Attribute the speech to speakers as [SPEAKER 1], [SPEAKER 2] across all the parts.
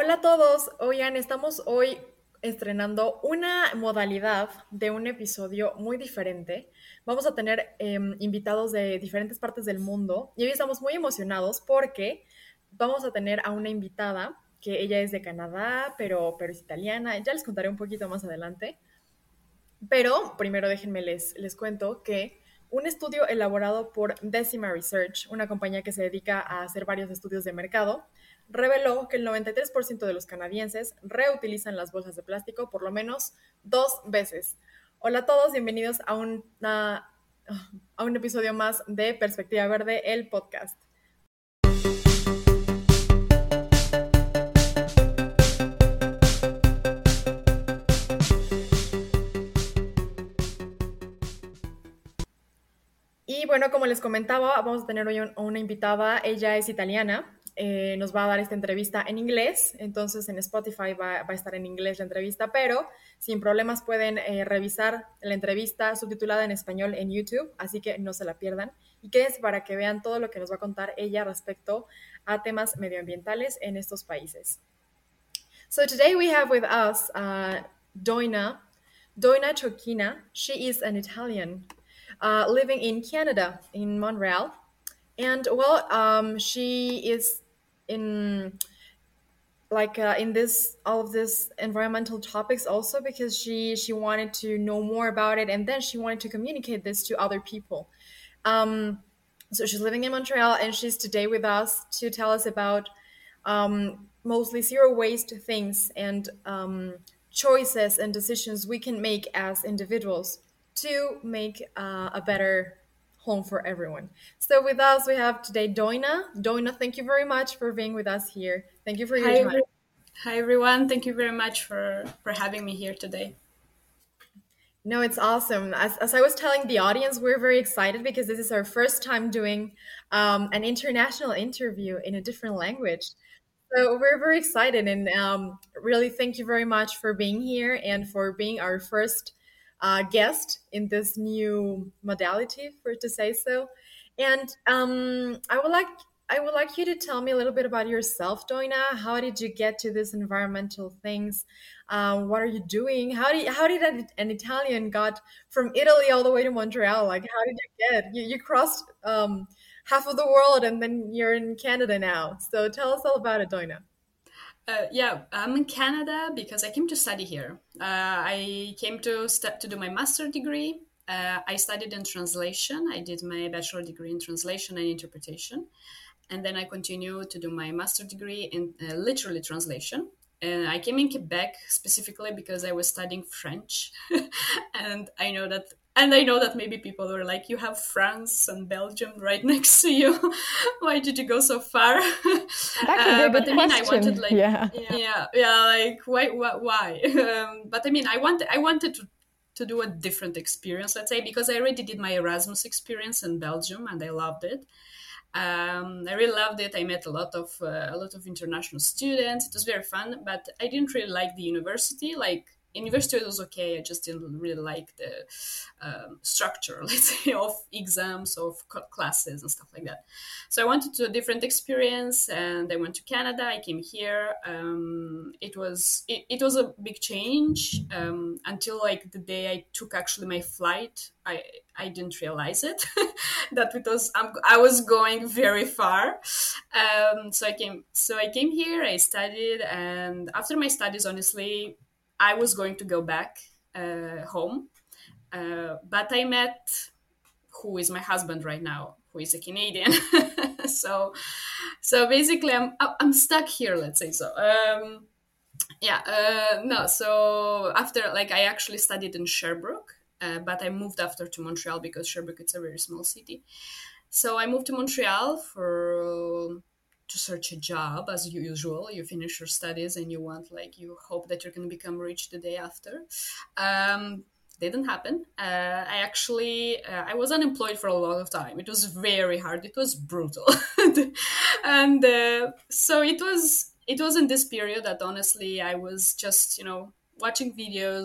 [SPEAKER 1] Hola a todos, oigan, estamos hoy estrenando una modalidad de un episodio muy diferente. Vamos a tener invitados de diferentes partes del mundo y hoy estamos muy emocionados porque vamos a tener a una invitada que ella es de Canadá, pero es italiana. Ya les contaré un poquito más adelante. Pero primero déjenme les cuento que un estudio elaborado por Decima Research, una compañía que se dedica a hacer varios estudios de mercado, reveló que el 93% de los canadienses reutilizan las bolsas de plástico por lo menos 2 veces. Hola a todos, bienvenidos a un episodio más de Perspectiva Verde, el podcast. Y bueno, como les comentaba, vamos a tener hoy una invitada. Ella es italiana. Nos va a dar esta entrevista en inglés. Entonces en Spotify va a estar en inglés la entrevista, pero sin problemas pueden revisar la entrevista subtitulada en español en YouTube, así que no se la pierdan. Y quédense para que vean todo lo que nos va a contar ella respecto a temas medioambientales en estos países. So today we have with us Doina Chocchina. She is an Italian living in Canada, in Montreal. And well, she is in in this all of this environmental topics also because she wanted to know more about it, and then she wanted to communicate this to other people. So she's living in Montreal, and she's today with us to tell us about mostly zero waste things and choices and decisions we can make as individuals to make a better home for everyone. So with us, we have today Doina. Doina, thank you very much for being with us here. Thank you for your time.
[SPEAKER 2] Hi, everyone. Thank you very much for having me here today.
[SPEAKER 1] No, it's awesome. As I was telling the audience, we're very excited because this is our first time doing an international interview in a different language. So we're very excited, and really thank you very much for being here and for being our first guest in this new modality, for to say so. And I would like you to tell me a little bit about yourself, Doina. How did you get to these environmental things? What are you doing? How did an Italian got from Italy all the way to Montreal? Like, how did you get? You crossed half of the world, and then you're in Canada now. So tell us all about it, Doina.
[SPEAKER 2] Yeah, I'm in Canada because I came to study here. I came to do my master degree. I studied in translation. I did my bachelor degree in translation and interpretation. And then I continued to do my master degree in literary translation. And I came in Quebec specifically because I was studying French. and I know that maybe people were like, you have France and Belgium right next to you. Why did you go so far?
[SPEAKER 3] That could be a good question.
[SPEAKER 2] I wanted like why? But I mean, I wanted to do a different experience, let's say, because I already did my Erasmus experience in Belgium and I loved it. I really loved it. I met a lot of international students. It was very fun, but I didn't really like the university. Like, university was okay. I just didn't really like the structure, let's say, of exams, of classes and stuff like that. So I wanted to do a different experience, and I went to Canada. I came here. It was a big change until like the day I took actually my flight. I didn't realize it that I was going very far. So I came here. I studied, and after my studies, honestly, I was going to go back home, but I met who is my husband right now, who is a Canadian. so basically, I'm stuck here. Let's say so. No. So after, like, I actually studied in Sherbrooke, but I moved after to Montreal because Sherbrooke is a very small city. So I moved to Montreal to search a job as usual. You finish your studies and you hope that you're going to become rich the day after. Didn't happen. I was unemployed for a lot of time. It was very hard. It was brutal. And so it was in this period that honestly I was just, watching videos,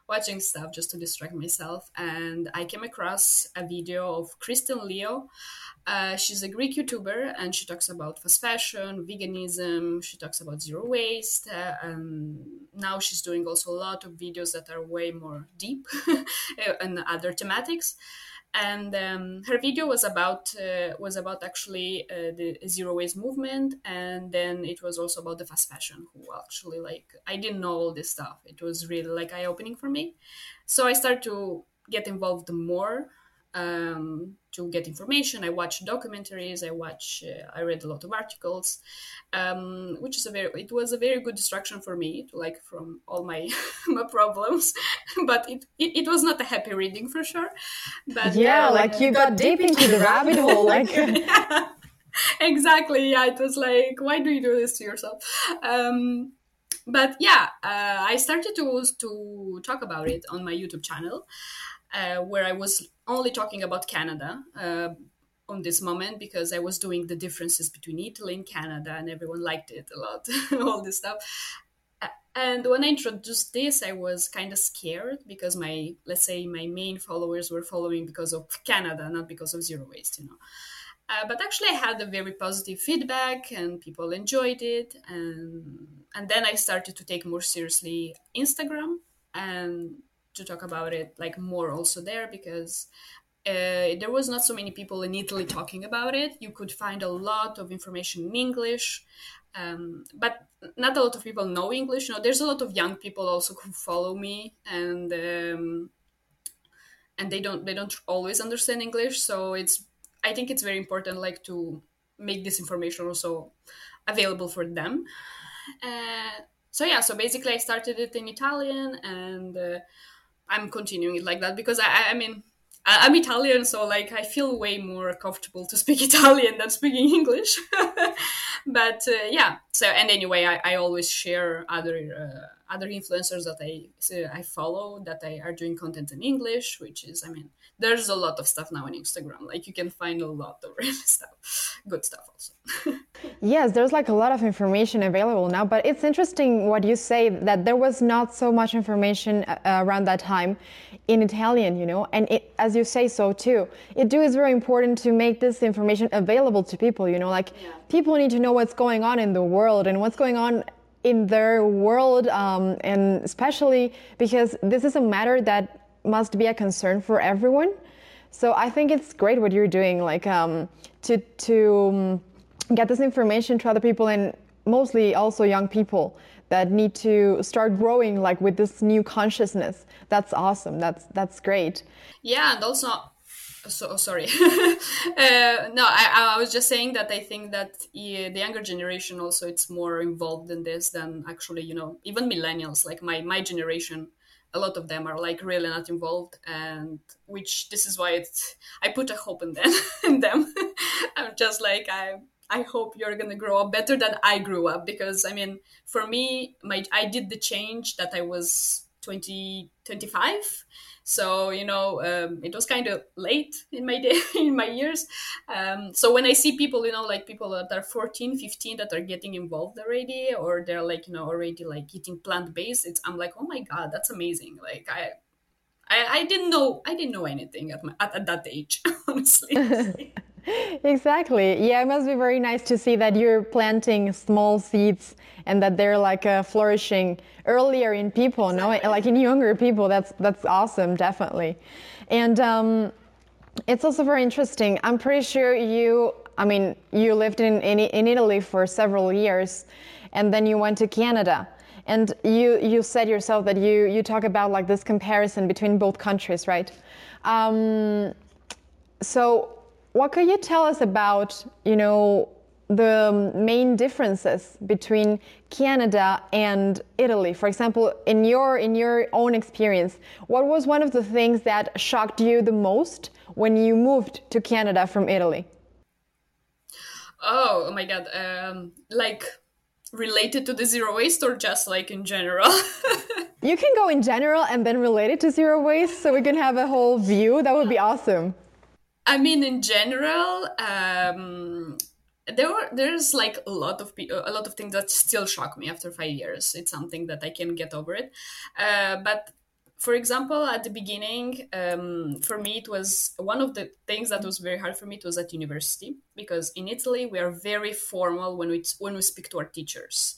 [SPEAKER 2] watching stuff just to distract myself. And I came across a video of Kristen Leo. She's a Greek YouTuber, and she talks about fast fashion, veganism. She talks about zero waste. Now she's doing also a lot of videos that are way more deep and other thematics. And her video was about actually the zero waste movement, and then it was also about the fast fashion. Who actually, like, I didn't know all this stuff. It was really like eye opening for me. So I started to get involved more, to get information. I watched documentaries. I read a lot of articles, which is it was a very good distraction for me, like from all my my problems. But it was not a happy reading for sure. But
[SPEAKER 3] yeah, like you got deep into the rabbit hole, like.
[SPEAKER 2] Yeah, exactly. Yeah, it was like, why do you do this to yourself? But yeah, I started to talk about it on my YouTube channel. Where I was only talking about Canada on this moment, because I was doing the differences between Italy and Canada, and everyone liked it a lot, all this stuff. And when I introduced this, I was kind of scared, because my main followers were following because of Canada, not because of zero waste, But actually, I had a very positive feedback, and people enjoyed it. And then I started to take more seriously Instagram, and to talk about it like more also there, because there was not so many people in Italy talking about it. You could find a lot of information in English, but not a lot of people know English. There's a lot of young people also who follow me, and they don't always understand English. So I think it's very important, like, to make this information also available for them. So basically I started it in Italian, and I'm continuing it like that, because I mean, I'm Italian, so like I feel way more comfortable to speak Italian than speaking English. But yeah, so, and anyway, I always share other influencers that I follow that are doing content in English, which is, I mean, there's a lot of stuff now on Instagram. Like, you can find a lot of really stuff, good stuff also.
[SPEAKER 3] Yes, there's like a lot of information available now, but it's interesting what you say, that there was not so much information around that time in Italian, and it, as you say so too, it is very important to make this information available to people, people need to know what's going on in the world and what's going on in their world, and especially because this is a matter that must be a concern for everyone. So I think it's great what you're doing, like to get this information to other people, and mostly also young people that need to start growing like with this new consciousness. That's awesome. That's great.
[SPEAKER 2] Yeah, and also, sorry. No, I was just saying that I think that the younger generation also, it's more involved in this than actually, even millennials, like my generation. A lot of them are like really not involved, and this is why I put a hope in them. I'm just like, I hope you're gonna grow up better than I grew up, because I mean, for me, I did the change that I was 25, so it was kind of late in my day, in my years. So when I see people, like people that are 14, 15 that are getting involved already, or they're like already like eating plant-based, I'm like, oh my god, that's amazing. Like I didn't know anything at that age, honestly.
[SPEAKER 3] Exactly. Yeah, it must be very nice to see that you're planting small seeds and that they're like flourishing earlier in people, exactly. No? Like in younger people. That's awesome, definitely. And it's also very interesting. I'm pretty sure you lived in Italy for several years, and then you went to Canada. And you said yourself that you talk about like this comparison between both countries, right? So what could you tell us about, the main differences between Canada and Italy? For example, in your own experience, what was one of the things that shocked you the most when you moved to Canada from Italy?
[SPEAKER 2] Oh my God. Like related to the zero waste, or just like in general?
[SPEAKER 3] You can go in general and then relate it to zero waste, so we can have a whole view. That would be awesome.
[SPEAKER 2] I mean, in general, there's like a lot of things that still shock me after 5 years. It's something that I can get over it, but for example, at the beginning, for me, it was one of the things that was very hard for me. It was at university, because in Italy we are very formal when we speak to our teachers.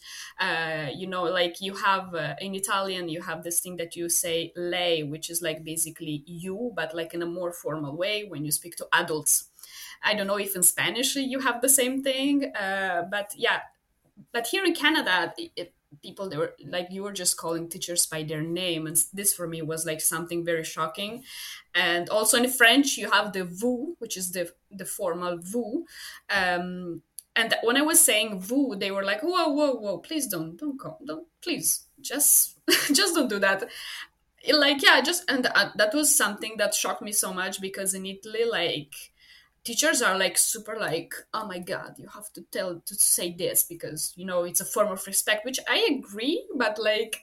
[SPEAKER 2] Like you have in Italian, you have this thing that you say lei, which is like basically you, but like in a more formal way when you speak to adults. I don't know if in Spanish you have the same thing, but yeah. But here in Canada, people, they were like, you were just calling teachers by their name, and this for me was like something very shocking. And also in French you have the vous, which is the formal vous, and when I was saying vous, they were like, whoa, please don't call, don't, please just just don't do that. Like, yeah, just, and that was something that shocked me so much, because in Italy, like, teachers are like super like, oh my god, you have to say this because it's a form of respect, which I agree, but like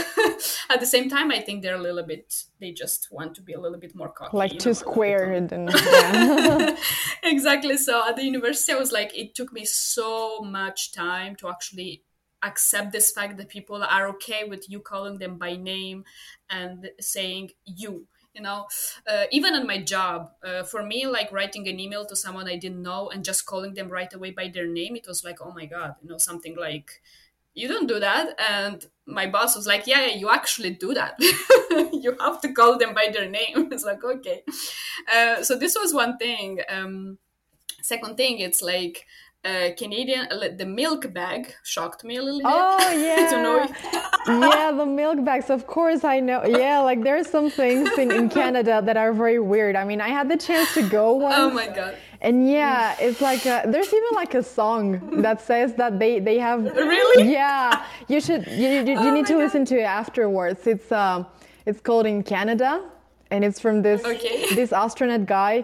[SPEAKER 2] at the same time I think they're a little bit, they just want to be a little bit more cocky,
[SPEAKER 3] like too squared and yeah.
[SPEAKER 2] Exactly. So at the university I was like, it took me so much time to actually accept this fact that people are okay with you calling them by name and saying you. Even on my job, for me, like writing an email to someone I didn't know and just calling them right away by their name, it was like, oh my god, something like, you don't do that. And my boss was like, yeah, you actually do that. You have to call them by their name. It's like, okay. So this was one thing. Second thing, it's like, Canadian, the milk bag shocked me a little bit.
[SPEAKER 3] Oh yeah, yeah, the milk bags. Of course, I know. Yeah, like there are some things in Canada that are very weird. I mean, I had the chance to go once.
[SPEAKER 2] Oh my god!
[SPEAKER 3] And yeah, it's like there's even like a song that says that they have.
[SPEAKER 2] Really?
[SPEAKER 3] Yeah, you need to listen to it afterwards. It's called In Canada, and it's from this astronaut guy.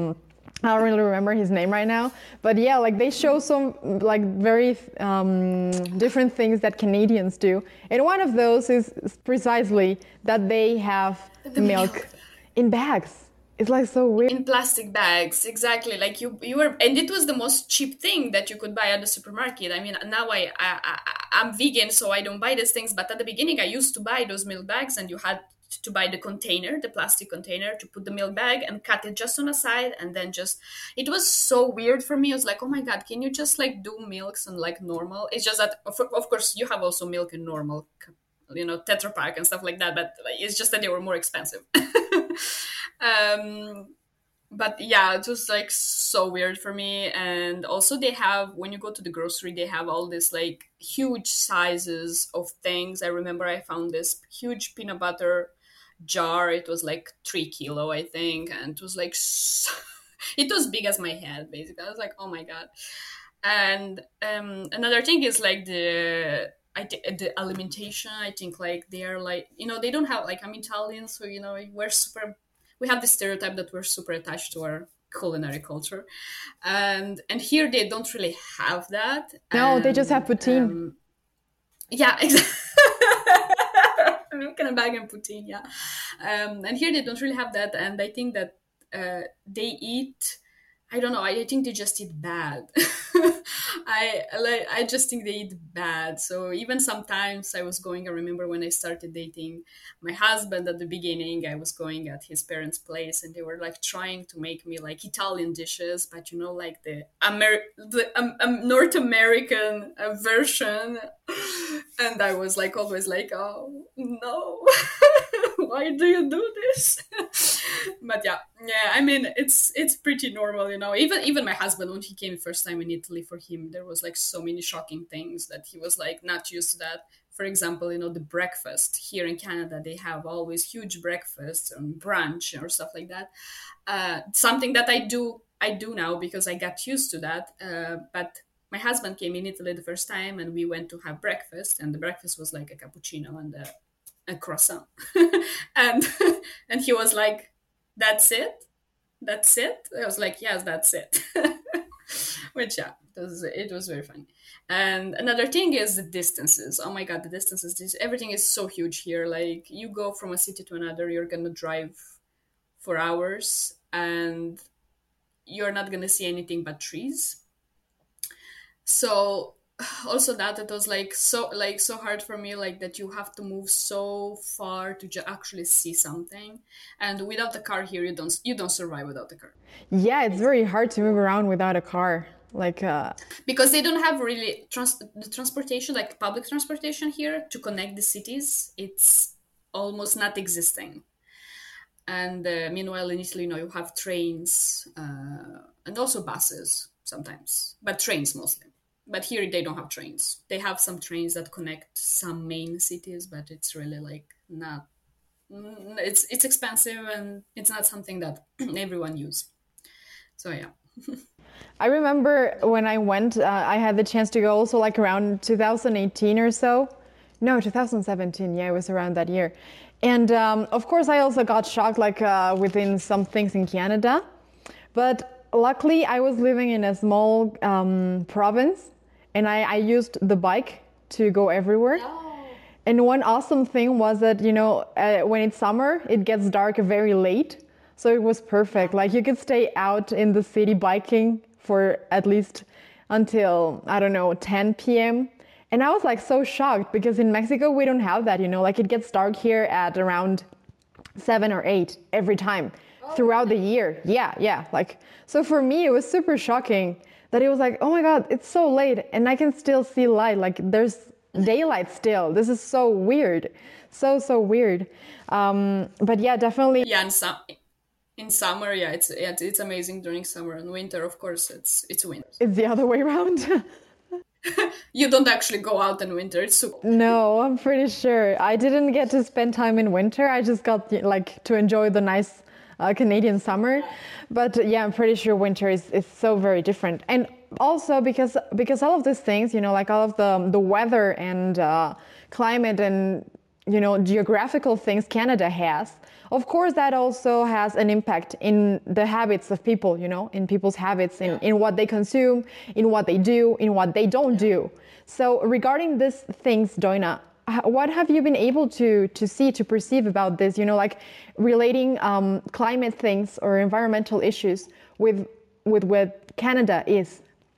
[SPEAKER 3] I don't really remember his name right now, but yeah, like they show some like very different things that Canadians do, and one of those is precisely that they have the milk in bags. It's like so weird.
[SPEAKER 2] In plastic bags, exactly. Like you were, and it was the most cheap thing that you could buy at the supermarket. I mean, now I'm vegan, so I don't buy these things. But at the beginning, I used to buy those milk bags, and you had to buy the container, the plastic container, to put the milk bag and cut it just on a side, and then just, it was so weird for me. I was like, oh my god, can you just like do milks and like normal? It's just that of course you have also milk in normal, Tetra Pak and stuff like that, but it's just that they were more expensive. But yeah, it was like so weird for me. And also they have, when you go to the grocery, they have all this like huge sizes of things. I remember I found this huge peanut butter jar. It was like 3 kilo, I think, and it was like it was big as my head, basically. I was like, oh my god. And another thing is like the alimentation. I think like they are like, they don't have, like, I'm Italian, so we have this stereotype that we're super attached to our culinary culture, and here they don't really have that.
[SPEAKER 3] No, they just have poutine.
[SPEAKER 2] Yeah, exactly. Milk in a bag and poutine, yeah. And here they don't really have that, and I think that they eat, I don't know, I think they just eat bad. I just think they eat bad. So even sometimes I remember when I started dating my husband at the beginning, I was going at his parents' place, and they were like trying to make me like Italian dishes, but like the North American version. And I was like always like, oh no, why do you do this? But yeah, I mean, it's pretty normal, even my husband, when he came first time in Italy, for him there was like so many shocking things that he was like not used to that. For example, the breakfast here in Canada, they have always huge breakfasts and brunch or stuff like that. Something that I do now because I got used to that. But my husband came in Italy the first time, and we went to have breakfast, and the breakfast was like a cappuccino and a croissant. and he was like, that's it? I was like, yes, that's it. Which, yeah, it was very funny. And another thing is the distances. Oh my god, the distances. Everything is so huge here. Like, you go from a city to another, you're gonna drive for hours, and you're not gonna see anything but trees. So also that it was so hard for me, like that you have to move so far to actually see something, and without a car here you don't survive without a car.
[SPEAKER 3] Yeah, it's very hard to move around without a car. Like
[SPEAKER 2] Because they don't have really the transportation, like public transportation here to connect the cities. It's almost not existing. And meanwhile in Italy, you have trains and also buses sometimes, but trains mostly. But here they don't have trains. They have some trains that connect some main cities, but it's really like not. It's expensive and it's not something that everyone use. So yeah.
[SPEAKER 3] I remember when I went, I had the chance to go also like around 2018 or so. No, 2017. Yeah, it was around that year. And of course, I also got shocked like within some things in Canada. But luckily, I was living in a small province and I used the bike to go everywhere. And one awesome thing was that, when it's summer, it gets dark very late. So it was perfect. Like you could stay out in the city biking for at least until, I don't know, 10 p.m. And I was like so shocked because in Mexico, we don't have that, like it gets dark here at around 7 or 8 every time throughout the year. Yeah. Like, so for me, it was super shocking that it was like, oh my God, it's so late and I can still see light. Like there's daylight still. This is so weird. So weird. But yeah, definitely.
[SPEAKER 2] Yeah, in summer, yeah, it's amazing during summer. And winter, of course, it's winter.
[SPEAKER 3] It's the other way around.
[SPEAKER 2] You don't actually go out in winter. It's super.
[SPEAKER 3] No, I'm pretty sure. I didn't get to spend time in winter. I just got like to enjoy the nice Canadian summer. But yeah, I'm pretty sure winter is so very different. And also because all of these things, like all of the weather and climate and geographical things Canada has, of course that also has an impact in the habits of people, in people's habits, in what they consume, in what they do, in what they don't do. So regarding these things, Doina, what have you been able to see, to perceive about this, like relating climate things or environmental issues with what Canada is?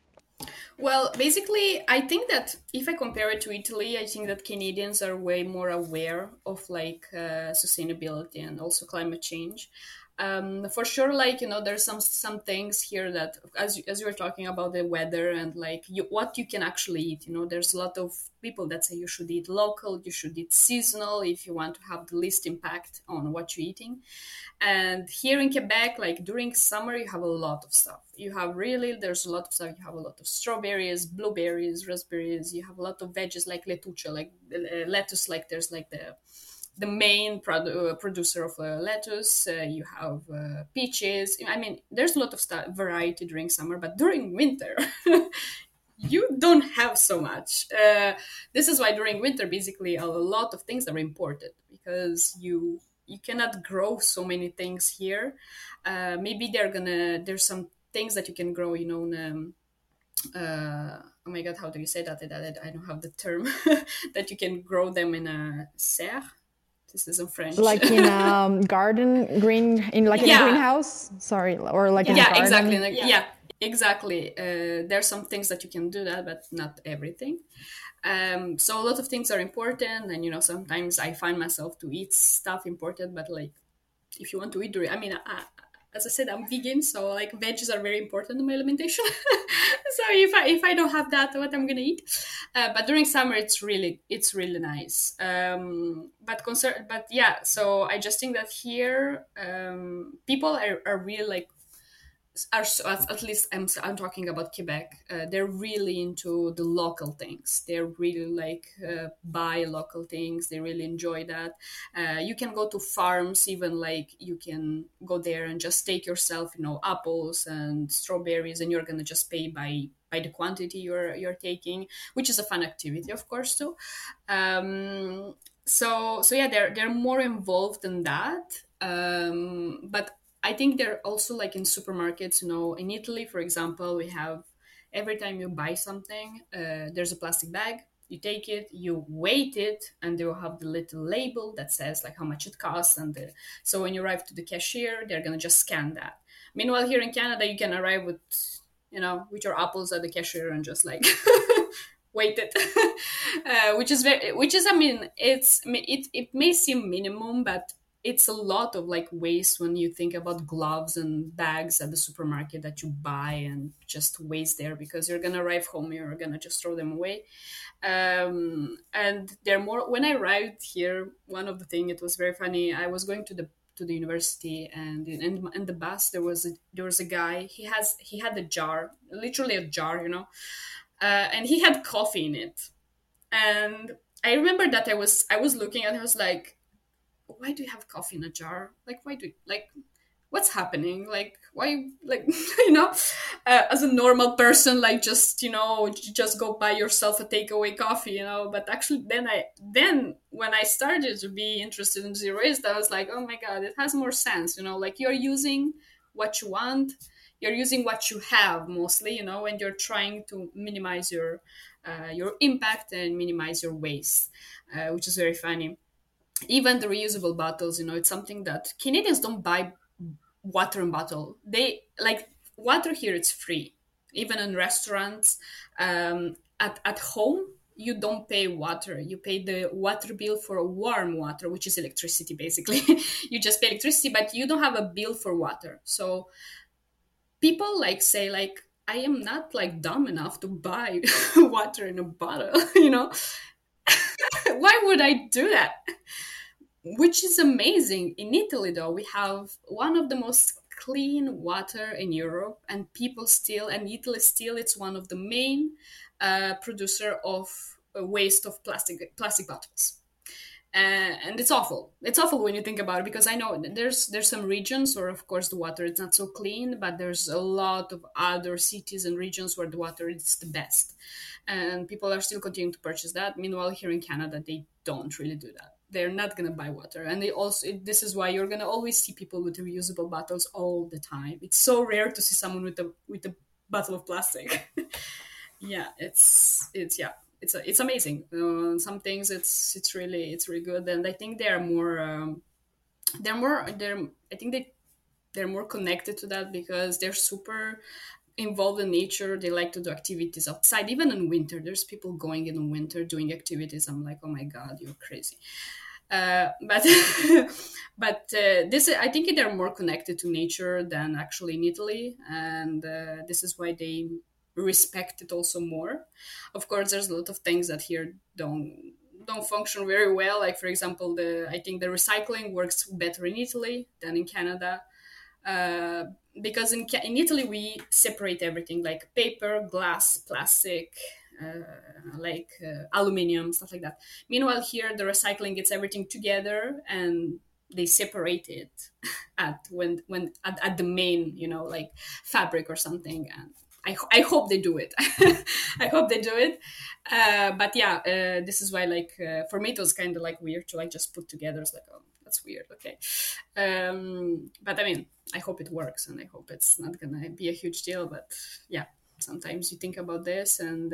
[SPEAKER 2] Well, basically, I think that if I compare it to Italy, I think that Canadians are way more aware of like sustainability and also climate change. For sure, like there's some things here that, as you were talking about the weather and like what you can actually eat. There's a lot of people that say you should eat local, you should eat seasonal if you want to have the least impact on what you're eating. And here in Quebec, like during summer, you have a lot of stuff. There's a lot of stuff. You have a lot of strawberries, blueberries, raspberries. You have a lot of veggies like letuche, like lettuce. Like there's like the main producer of lettuce. You have peaches. I mean, there's a lot of variety during summer, but during winter, you don't have so much. This is why during winter, basically, a lot of things are imported because you cannot grow so many things here. Maybe there's some things that you can grow, oh my God, how do you say that? I don't have the term that you can grow them in a serre. This is in French.
[SPEAKER 3] Like in a garden, in a greenhouse? Sorry, or like in a garden?
[SPEAKER 2] Exactly. Yeah, exactly. There's some things that you can do that, but not everything. So a lot of things are important, and sometimes I find myself to eat stuff imported, but like if you want to eat, as I said, I'm vegan, so like veggies are very important in my alimentation. So if I don't have that, what I'm gonna eat? But during summer, it's really nice. But yeah, so I just think that here people are really like. At least I'm talking about Quebec. They're really into the local things. They're really like buy local things. They really enjoy that. You can go to farms, even like you can go there and just take yourself, apples and strawberries, and you're gonna just pay by the quantity you're taking, which is a fun activity, of course, too. So yeah, they're more involved in that. But I think they're also like in supermarkets, in Italy, for example, we have every time you buy something, there's a plastic bag, you take it, you weight it, and they'll have the little label that says like how much it costs. And so when you arrive to the cashier, they're going to just scan that. Meanwhile, here in Canada, you can arrive with your apples at the cashier and just like weighted, which is, I mean, it may seem minimum, but it's a lot of like waste when you think about gloves and bags at the supermarket that you buy and just waste there because you're gonna arrive home, you're gonna just throw them away. And they're more, when I arrived here, one of the thing, it was very funny. I was going to the university, and in the bus there was a guy. He had a jar, literally a jar, and he had coffee in it. And I remember that I was looking and I was like, why do you have coffee in a jar? Like, why do you, like, what's happening? Like, why, like, as a normal person, like, just, just go buy yourself a takeaway coffee, But actually, then when I started to be interested in zero waste, I was like, oh my God, it has more sense, like you're using what you want, you're using what you have mostly, and you're trying to minimize your impact and minimize your waste, which is very funny. Even the reusable bottles, it's something that Canadians don't buy water in bottle. They like water here, it's free. Even in restaurants, at home, you don't pay water. You pay the water bill for warm water, which is electricity, basically. You just pay electricity, but you don't have a bill for water. So people like say like, I am not like dumb enough to buy water in a bottle, Why would I do that? Which is amazing. In Italy, though, we have one of the most clean water in Europe, and people still, and Italy still, it's one of the main producer of waste of plastic bottles. And it's awful. It's awful when you think about it, because I know there's some regions where, of course, the water is not so clean, but there's a lot of other cities and regions where the water is the best. And people are still continuing to purchase that. Meanwhile, here in Canada, they don't really do that. They're not going to buy water. And they also, this is why you're going to always see people with reusable bottles all the time. It's so rare to see someone with a bottle of plastic. Yeah, it's amazing. Some things it's really good, and I think they're more connected to that because they're super involved in nature. They like to do activities outside, even in winter. There's people going in winter doing activities. I'm like, oh my God, you're crazy. But this, I think they're more connected to nature than actually in Italy, and this is why they respect it also more. Of course, there's a lot of things that here don't function very well. Like, for example, I think the recycling works better in Italy than in Canada. Because in Italy we separate everything, like paper, glass, plastic, aluminium, stuff like that. Meanwhile, here the recycling gets everything together and they separate it at the main, like fabric or something. And I hope they do it. I hope they do it. But yeah, this is why, like, for me, it was kind of like weird to like just put together. It's like, oh, that's weird. Okay. But I mean, I hope it works, and I hope it's not gonna be a huge deal. But yeah, sometimes you think about this and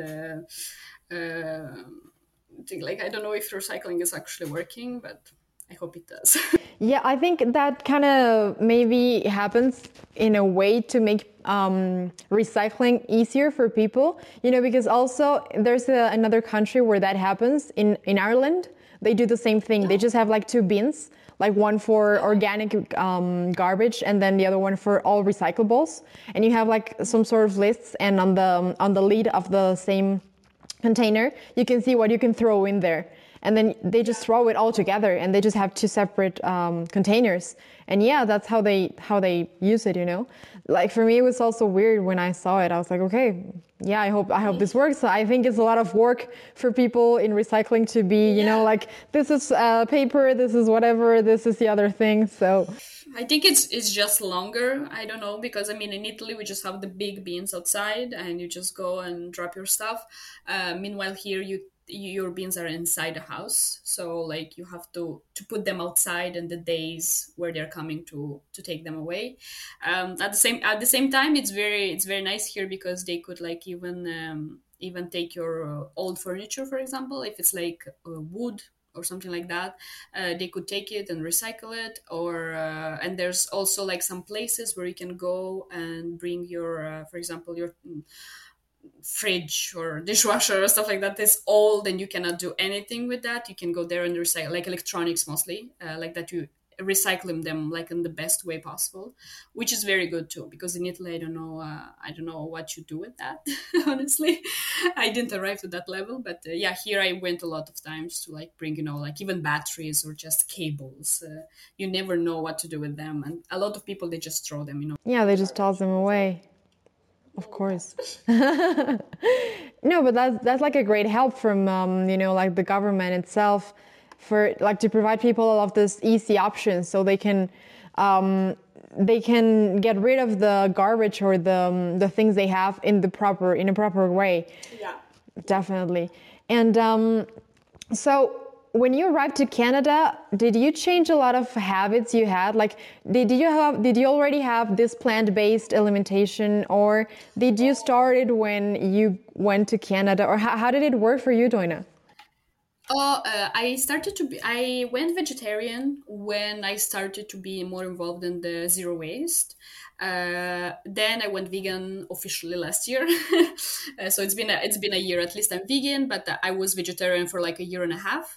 [SPEAKER 2] think like, I don't know if recycling is actually working, but I hope it does.
[SPEAKER 3] Yeah, I think that kind of maybe happens in a way to make recycling easier for people, because also there's another country where that happens in Ireland. They do the same thing. They just have like two bins, like one for organic garbage and then the other one for all recyclables. And you have like some sort of lists, and on the lid of the same container, you can see what you can throw in there. And then they just throw it all together, and they just have two separate containers. And yeah, that's how they use it, Like for me, it was also weird when I saw it. I was like, okay, yeah, I hope this works. I think it's a lot of work for people in recycling to be, like, this is paper, this is whatever, this is the other thing. So
[SPEAKER 2] I think it's just longer. I don't know, because I mean, in Italy we just have the big bins outside, and you just go and drop your stuff. Meanwhile, here your bins are inside the house, so like you have to put them outside in the days where they're coming to take them away. At the same time, it's very nice here because they could like even take your old furniture, for example, if it's like wood or something like that, they could take it and recycle it. Or and there's also like some places where you can go and bring your for example, your fridge or dishwasher or stuff like that is old and you cannot do anything with that, you can go there and recycle, like electronics mostly, like that, you recycling them like in the best way possible, which is very good too. Because in Italy, I don't know what you do with that. Honestly, I didn't arrive to that level, but yeah, here I went a lot of times to like bring, like even batteries or just cables. You never know what to do with them, and a lot of people, they just throw them.
[SPEAKER 3] Yeah, they just toss them away. Of course. No, but that's like a great help from like the government itself, for like to provide people all of these easy options, so they can get rid of the garbage or the things they have in a proper way.
[SPEAKER 2] Yeah,
[SPEAKER 3] definitely. And so when you arrived to Canada, did you change a lot of habits you had? Like, did you already have this plant-based alimentation, or did you start it when you went to Canada, or how did it work for you, Doina?
[SPEAKER 2] I went vegetarian when I started to be more involved in the zero waste. Then I went vegan officially last year. So it's been a year at least I'm vegan, but I was vegetarian for like a year and a half.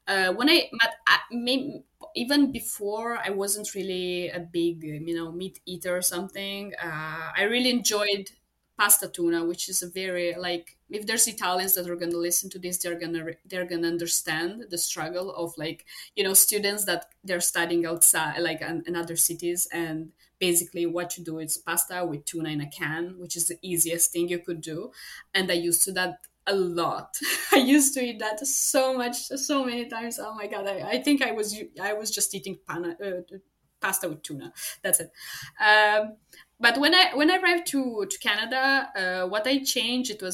[SPEAKER 2] Even before, I wasn't really a big, meat eater or something. I really enjoyed pasta tuna, which is a very, like, if there's Italians that are going to listen to this, they're gonna understand the struggle of, like, students that they're studying outside, like in other cities, and basically what you do is pasta with tuna in a can, which is the easiest thing you could do. And I used to that a lot. I used to eat that so much, so many times. Oh my god! I think I was just eating pasta with tuna. That's it. But when I arrived to Canada, what I changed, it was,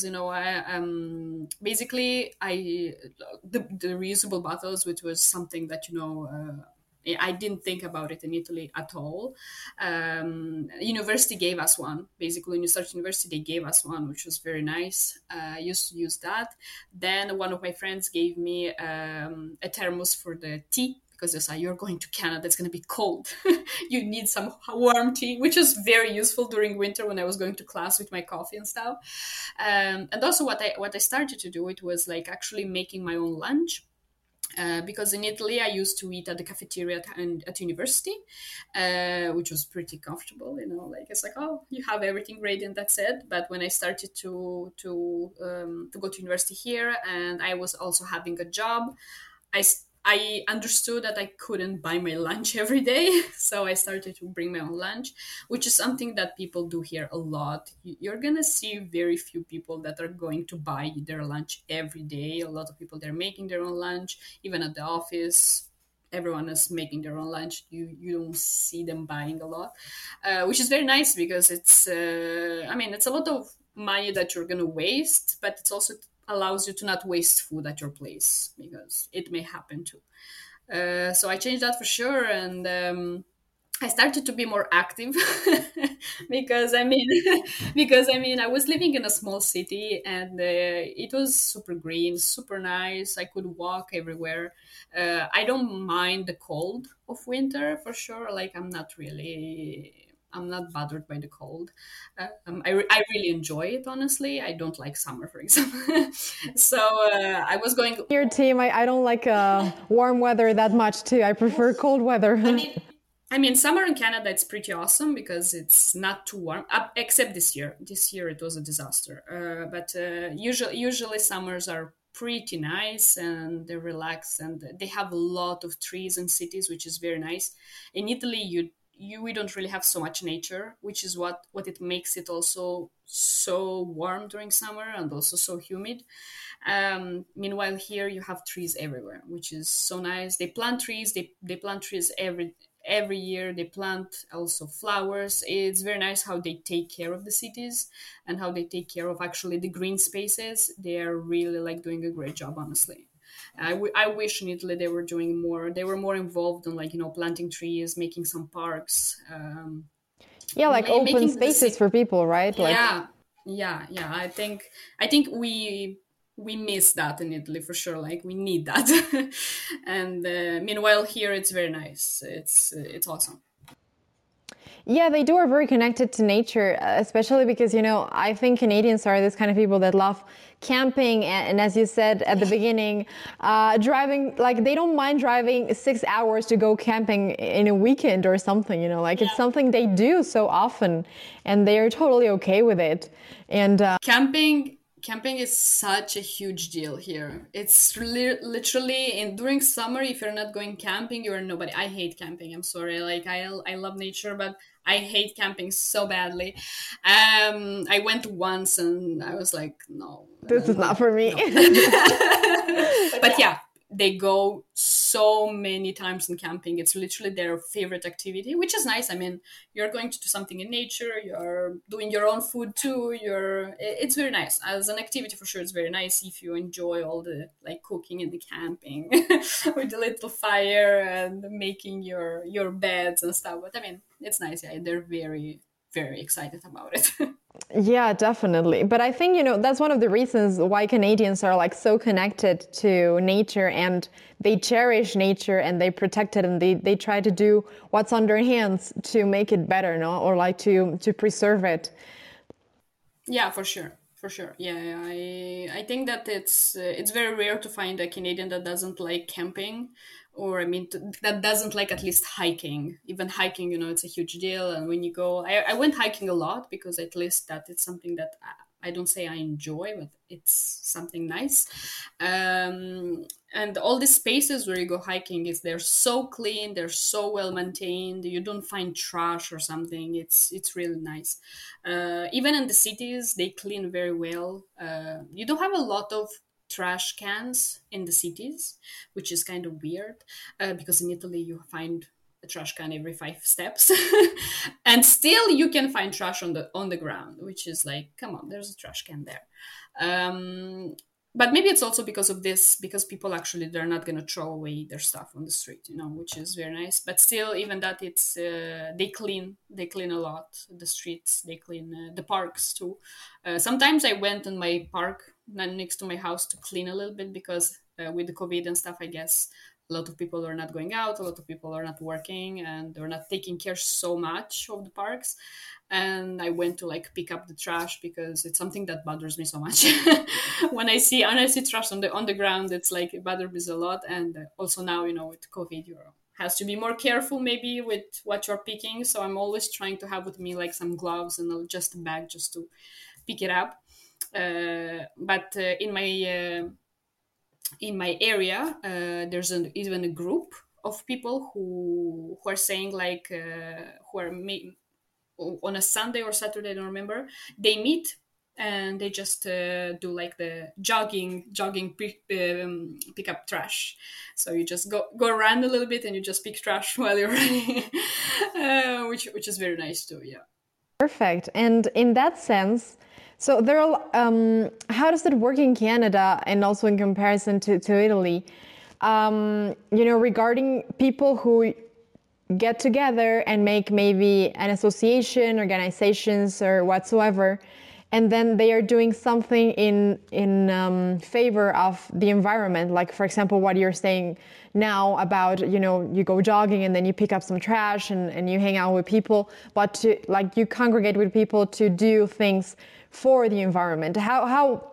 [SPEAKER 2] basically the reusable bottles, which was something that I didn't think about it in Italy at all. University gave us one. Basically, when you start university, they gave us one, which was very nice. I used to use that. Then one of my friends gave me a thermos for the tea, because they say, you're going to Canada, it's going to be cold. You need some warm tea, which is very useful during winter when I was going to class with my coffee and stuff. And also what I started to do, it was like actually making my own lunch. Because in Italy, I used to eat at the cafeteria at university, which was pretty comfortable. Like, it's like, oh, you have everything ready and that's it. But when I started to go to university here, and I was also having a job, I understood that I couldn't buy my lunch every day, so I started to bring my own lunch, which is something that people do here a lot. You're gonna see very few people that are going to buy their lunch every day. A lot of people, they're making their own lunch, even at the office. Everyone is making their own lunch. You don't see them buying a lot, which is very nice, because it's it's a lot of money that you're gonna waste, but it's also allows you to not waste food at your place, because it may happen too. So I changed that for sure, and I started to be more active because I was living in a small city, and it was super green, super nice. I could walk everywhere. I don't mind the cold of winter for sure. Like, I'm not bothered by the cold. I really enjoy it, honestly. I don't like summer, for example. So I was going.
[SPEAKER 3] Your team, I don't like warm weather that much too. I prefer cold weather.
[SPEAKER 2] Summer in Canada, it's pretty awesome because it's not too warm, except this year. This year it was a disaster. But usually summers are pretty nice, and they're relaxed, and they have a lot of trees in cities, which is very nice. In Italy, we don't really have so much nature, which is what it makes it also so warm during summer and also so humid. Meanwhile, here you have trees everywhere, which is so nice. They plant trees. They plant trees every year. They plant also flowers. It's very nice how they take care of the cities and how they take care of actually the green spaces. They are really like doing a great job, honestly. I wish in Italy they were doing more. They were more involved in, like, planting trees, making some parks.
[SPEAKER 3] Yeah, like open spaces for people, right?
[SPEAKER 2] Yeah. I think we miss that in Italy for sure. Like, we need that. And meanwhile here it's very nice. It's awesome.
[SPEAKER 3] Yeah, they do are very connected to nature, especially because, I think Canadians are this kind of people that love camping. And as you said at the beginning, driving, like they don't mind driving 6 hours to go camping in a weekend or something, it's something they do so often and they are totally okay with it. And
[SPEAKER 2] camping is such a huge deal here. It's literally during summer, if you're not going camping, you're nobody. I hate camping. I'm sorry. Like I love nature, but I hate camping so badly. I went once and I was like, no,
[SPEAKER 3] this is not for me.
[SPEAKER 2] No. But yeah, they go so many times in camping. It's literally their favorite activity, which is nice. I mean, you're going to do something in nature. You're doing your own food too. It's very nice as an activity for sure. It's very nice if you enjoy all the like cooking and the camping with the little fire and making your beds and stuff. But I mean, it's nice. Yeah, they're very, very excited about it.
[SPEAKER 3] Yeah, definitely. But I think, that's one of the reasons why Canadians are like so connected to nature and they cherish nature and they protect it and they try to do what's on their hands to make it better, no? Or like to preserve it.
[SPEAKER 2] Yeah, for sure. For sure. Yeah, I think that it's very rare to find a Canadian that doesn't like camping, or I mean that doesn't like at least hiking. Even hiking, it's a huge deal. And when you go, I went hiking a lot because at least that it's something that I don't say I enjoy, but it's something nice. And all these spaces where you go hiking they're so clean, they're so well maintained. You don't find trash or something. It's really nice. Even in the cities, they clean very well. You don't have a lot of trash cans in the cities, which is kind of weird because in Italy you find a trash can every 5 steps and still you can find trash on the ground, which is like, come on, there's a trash can there. But maybe it's also because of this, because people actually, they're not going to throw away their stuff on the street, which is very nice. But still, even that, it's they clean a lot the streets, they clean the parks too. Sometimes I went in my park next to my house to clean a little bit because with the COVID and stuff, I guess a lot of people are not going out, a lot of people are not working, and they're not taking care so much of the parks. And I went to like pick up the trash because it's something that bothers me so much. when I see trash on the ground, it's like it bothers me a lot. And also now, with COVID, you has to be more careful maybe with what you're picking. So I'm always trying to have with me like some gloves and just a bag just to pick it up. But in my area, there's even a group of people who are saying like who are on a Sunday or Saturday, I don't remember, they meet and they just do like the jogging pick up trash. So you just go around a little bit and you just pick trash while you're running, which is very nice too. Yeah.
[SPEAKER 3] Perfect. And in that sense, so there are, how does it work in Canada and also in comparison to Italy? Regarding people who get together and make maybe an association, organizations or whatsoever, and then they are doing something in favor of the environment. Like, for example, what you're saying now about, you go jogging and then you pick up some trash and you hang out with people, but you congregate with people to do things for the environment. How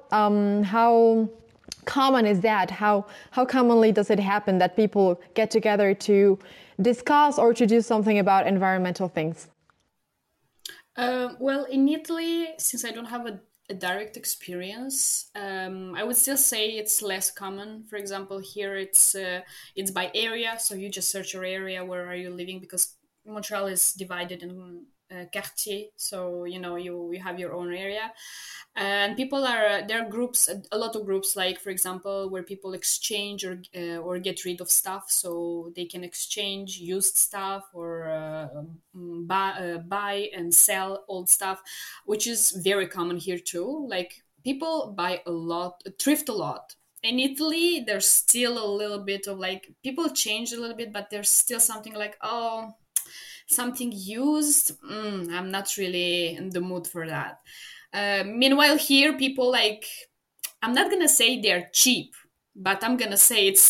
[SPEAKER 3] common is that? How commonly does it happen that people get together to discuss or to do something about environmental things?
[SPEAKER 2] Well, in Italy, since I don't have a direct experience, I would still say it's less common. For example, here it's by area, so you just search your area, where are you living, because Montreal is divided in quartier, so you have your own area, and there are groups, a lot of groups, like for example where people exchange or get rid of stuff, so they can exchange used stuff or buy and sell old stuff, which is very common here too. Like people buy a lot, thrift a lot. In Italy, there's still a little bit of like, people change a little bit, but there's still something like, oh, something used, I'm not really in the mood for that. Meanwhile here, people like, I'm not gonna say they're cheap, but I'm gonna say it's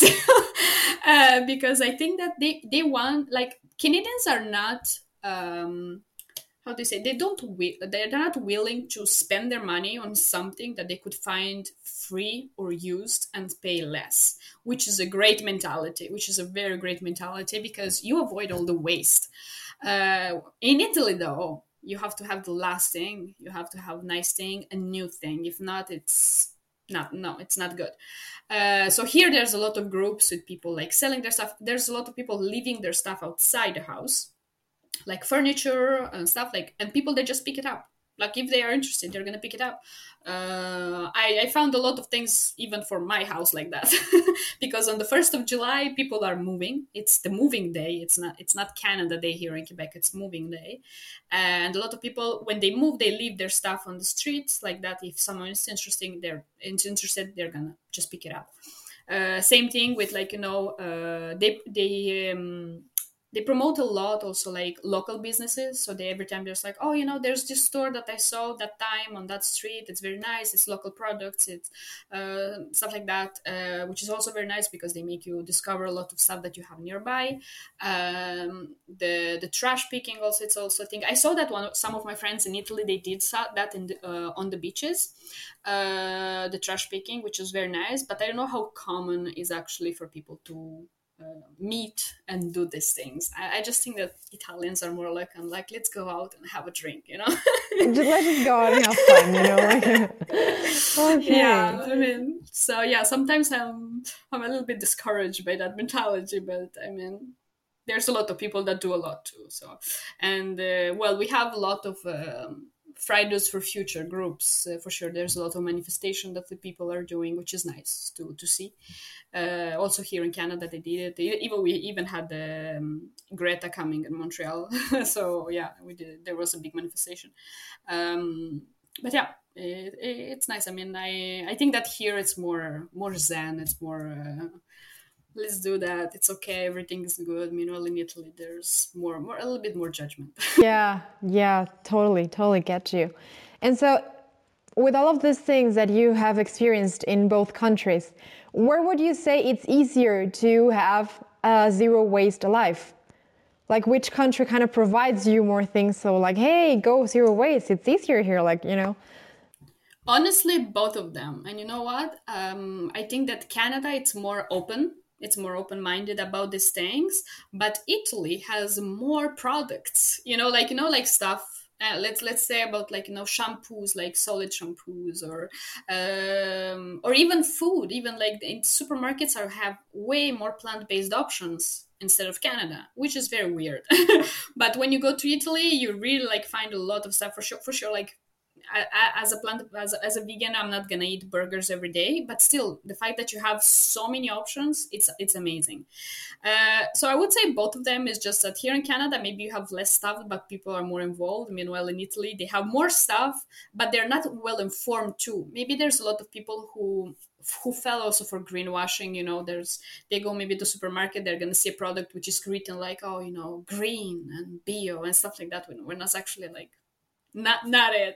[SPEAKER 2] because I think that they want, like, Canadians are not how do you say, they're not willing to spend their money on something that they could find free or used and pay less, which is a great mentality, which is a very great mentality, because you avoid all the waste. In Italy, though, you have to have the last thing, you have to have nice thing, a new thing. If not, it's not good. So here there's a lot of groups with people like selling their stuff. There's a lot of people leaving their stuff outside the house, like furniture and stuff, like, and people, they just pick it up. Like, if they are interested, they're gonna pick it up. I found a lot of things even for my house like that, because on the 1st of July people are moving. It's the moving day. It's not Canada Day here in Quebec. It's moving day, and a lot of people, when they move, they leave their stuff on the streets like that. If someone is interested, they're gonna just pick it up. Same thing with, like, they promote a lot also, like, local businesses. So they, every time there's like, oh, there's this store that I saw that time on that street. It's very nice. It's local products. It's stuff like that, which is also very nice because they make you discover a lot of stuff that you have nearby. The trash picking also, it's also a thing. I saw that some of my friends in Italy, they did that on the beaches, the trash picking, which is very nice. But I don't know how common is actually for people to meet and do these things. I just think that Italians are more like, let's go out and have a drink,
[SPEAKER 3] Let's just go out and have fun, Okay.
[SPEAKER 2] Yeah, I mean, so yeah, sometimes I'm a little bit discouraged by that mentality, but I mean, there's a lot of people that do a lot too. So, and we have a lot of Fridays for Future groups, for sure. There's a lot of manifestation that the people are doing, which is nice to see. Also here in Canada, they did it. We even had Greta coming in Montreal. So yeah, we did. There was a big manifestation. But yeah, it's nice. I mean, I think that here it's more zen. It's more let's do that. It's okay. Everything is good. Meanwhile, in Italy, there's a little bit more judgment.
[SPEAKER 3] Yeah, totally get you. And so, with all of these things that you have experienced in both countries, where would you say it's easier to have a zero waste life? Like, which country kind of provides you more things? So, like, hey, go zero waste. It's easier here,
[SPEAKER 2] Honestly, both of them. And you know what? I think that Canada, it's more open. It's more open-minded about these things, but Italy has more products, like stuff. Let's say about shampoos, like solid shampoos, or even food. Even like in supermarkets have way more plant-based options instead of Canada, which is very weird. But when you go to Italy, you really find a lot of stuff for sure. Like, as a vegan, I'm not gonna eat burgers every day, but still, the fact that you have so many options, it's amazing. So I would say both of them. Is just that here in Canada, maybe you have less stuff, but people are more involved. Meanwhile, in Italy, they have more stuff, but they're not well informed too. Maybe there's a lot of people who fell also for greenwashing. They go maybe to the supermarket, they're gonna see a product which is written like, green and bio and stuff like that, when that's actually not it.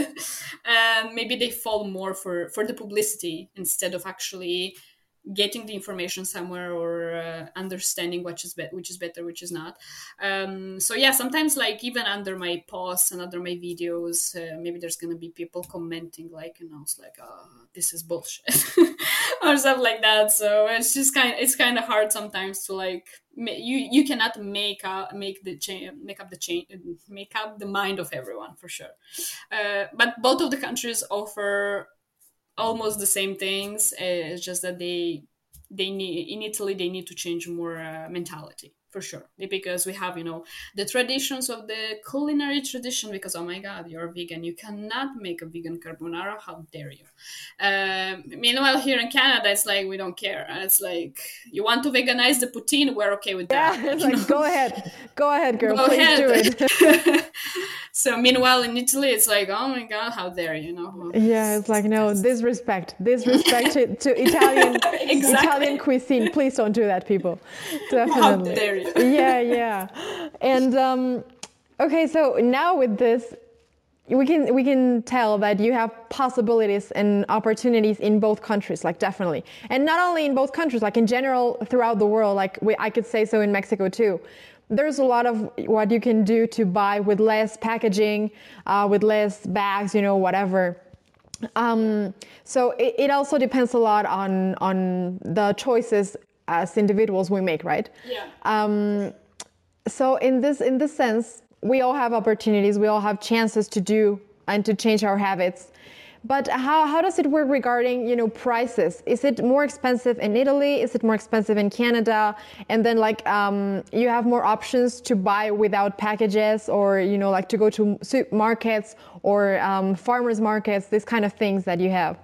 [SPEAKER 2] And maybe they fall more for the publicity instead of actually getting the information somewhere, or understanding which is better, which is not. So yeah, sometimes even under my posts and under my videos, maybe there's gonna be people commenting it's like, oh, this is bullshit or stuff like that. So it's just kind of hard sometimes to you cannot make up the mind of everyone, for sure. But both of the countries offer almost the same things. It's just that they need, in Italy, they need to change more mentality, for sure, because we have the traditions of the culinary tradition, because, oh my god, you're vegan, you cannot make a vegan carbonara, how dare you. Meanwhile, here in Canada, it's like, we don't care. It's like, you want to veganize the poutine, we're okay with that.
[SPEAKER 3] Yeah, it's like, go ahead girl, please do it.
[SPEAKER 2] So meanwhile, in Italy, it's like, oh my god, how dare you.
[SPEAKER 3] Yeah, it's like, no, disrespect to Italian Italian cuisine. Please don't do that, people. Definitely.
[SPEAKER 2] How dare you.
[SPEAKER 3] Yeah. And okay, so now with this, we can tell that you have possibilities and opportunities in both countries, definitely. And not only in both countries, in general throughout the world, I could say so in Mexico too. there's a lot of what you can do to buy with less packaging, with less bags, whatever. So it also depends a lot on the choices as individuals we make, right?
[SPEAKER 2] Yeah.
[SPEAKER 3] So in this sense, we all have opportunities, we all have chances to do and to change our habits. But how does it work regarding, prices? Is it more expensive in Italy? Is it more expensive in Canada? And then you have more options to buy without packages, or, to go to supermarkets or farmers markets, these kind of things that you have.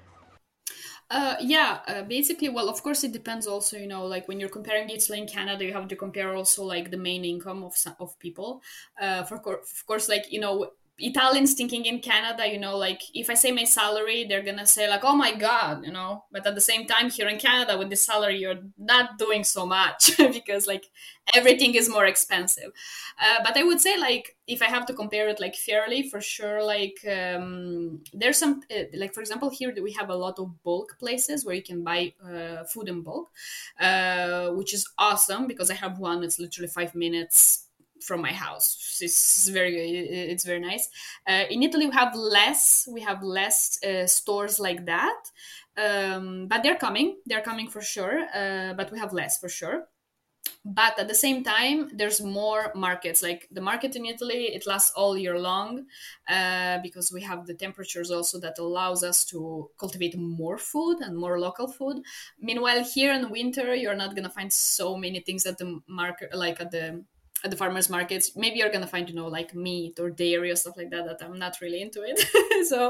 [SPEAKER 2] Basically, well, of course, it depends also, like when you're comparing Italy and Canada, you have to compare also like the main income of people. Of course, like, Italians thinking in Canada, like if I say my salary, they're gonna say like, oh my God, but at the same time here in Canada with this salary, you're not doing so much because like everything is more expensive. But I would say like, if I have to compare it like fairly, for sure, like there's some, like for example, here we have a lot of bulk places where you can buy food in bulk, which is awesome because I have one that's literally 5 minutes from my house. It's very nice. In Italy, we have less stores like that, but they're coming for sure. But we have less for sure. But at the same time, there's more markets. Like the market in Italy, it lasts all year long because we have the temperatures also that allows us to cultivate more food and more local food. Meanwhile, here in winter, you're not gonna find so many things at the market, like at the farmers markets. Maybe you're gonna find like meat or dairy or stuff like that I'm not really into it. So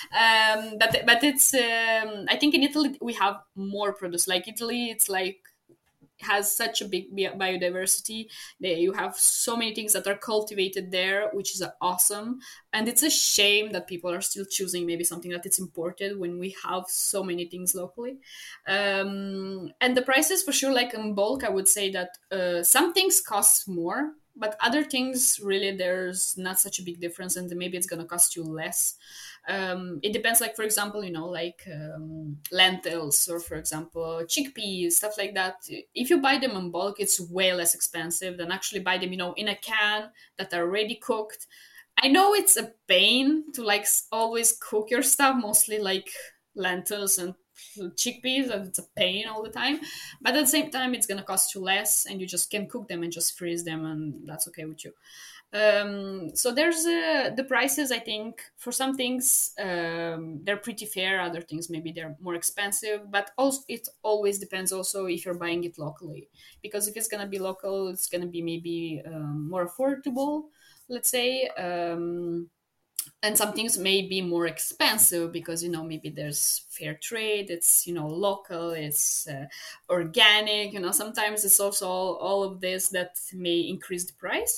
[SPEAKER 2] but it's I think in Italy we have more produce. Like Italy, it's like has such a big biodiversity. You have so many things that are cultivated there, which is awesome. And it's a shame that people are still choosing maybe something that it's imported when we have so many things locally. And the prices for sure, like in bulk, I would say that some things cost more, but other things really there's not such a big difference, and maybe it's going to cost you less. It depends, like for example, like lentils, or for example chickpeas, stuff like that. If you buy them in bulk, it's way less expensive than actually buy them in a can that are already cooked. I know it's a pain to like always cook your stuff, mostly like lentils and chickpeas, and it's a pain all the time, but at the same time it's going to cost you less, and you just can cook them and just freeze them, and that's okay with you. So there's the prices, I think for some things they're pretty fair, other things maybe they're more expensive, but also it always depends also if you're buying it locally, because if it's going to be local, it's going to be maybe more affordable, let's say. And some things may be more expensive because maybe there's fair trade, it's local, it's organic. Sometimes it's also all of this that may increase the price.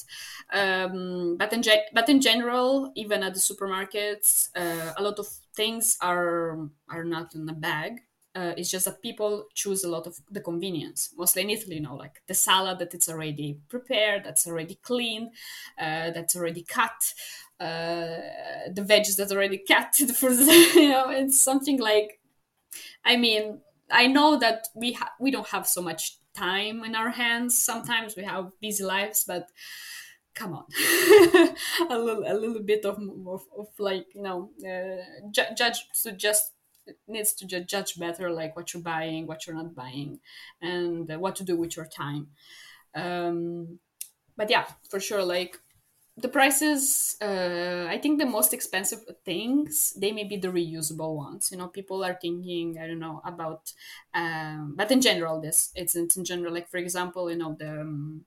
[SPEAKER 2] But in general, even at the supermarkets, a lot of things are not in a bag. It's just that people choose a lot of the convenience, mostly in Italy, like the salad that it's already prepared, that's already cleaned, that's already cut, the veggies that's already cut, it's something like, I mean, I know that we don't have so much time in our hands. Sometimes we have busy lives, but come on, a little bit of like, judge to just needs to judge better, like what you're buying, what you're not buying, and what to do with your time. But yeah, for sure, like the prices, I think the most expensive things, they may be the reusable ones. People are thinking, I don't know about, but in general, it's in general, like for example, the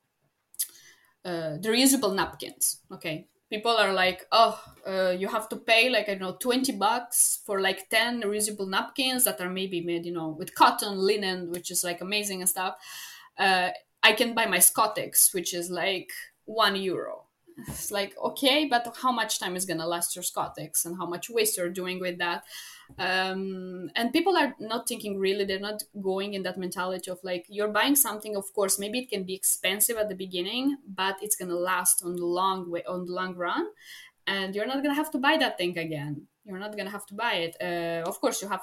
[SPEAKER 2] reusable napkins. Okay, people are like, you have to pay like, I don't know, $20 for like 10 reusable napkins that are maybe made, with cotton, linen, which is like amazing and stuff. I can buy my Scottex, which is like €1. It's like, okay, but how much time is gonna last your Scottex, and how much waste you're doing with that? And people are not thinking, really, they're not going in that mentality of like, you're buying something, of course maybe it can be expensive at the beginning, but it's gonna last on the long run, and you're not gonna have to buy that thing again. You're not gonna have to buy it. Of course you have to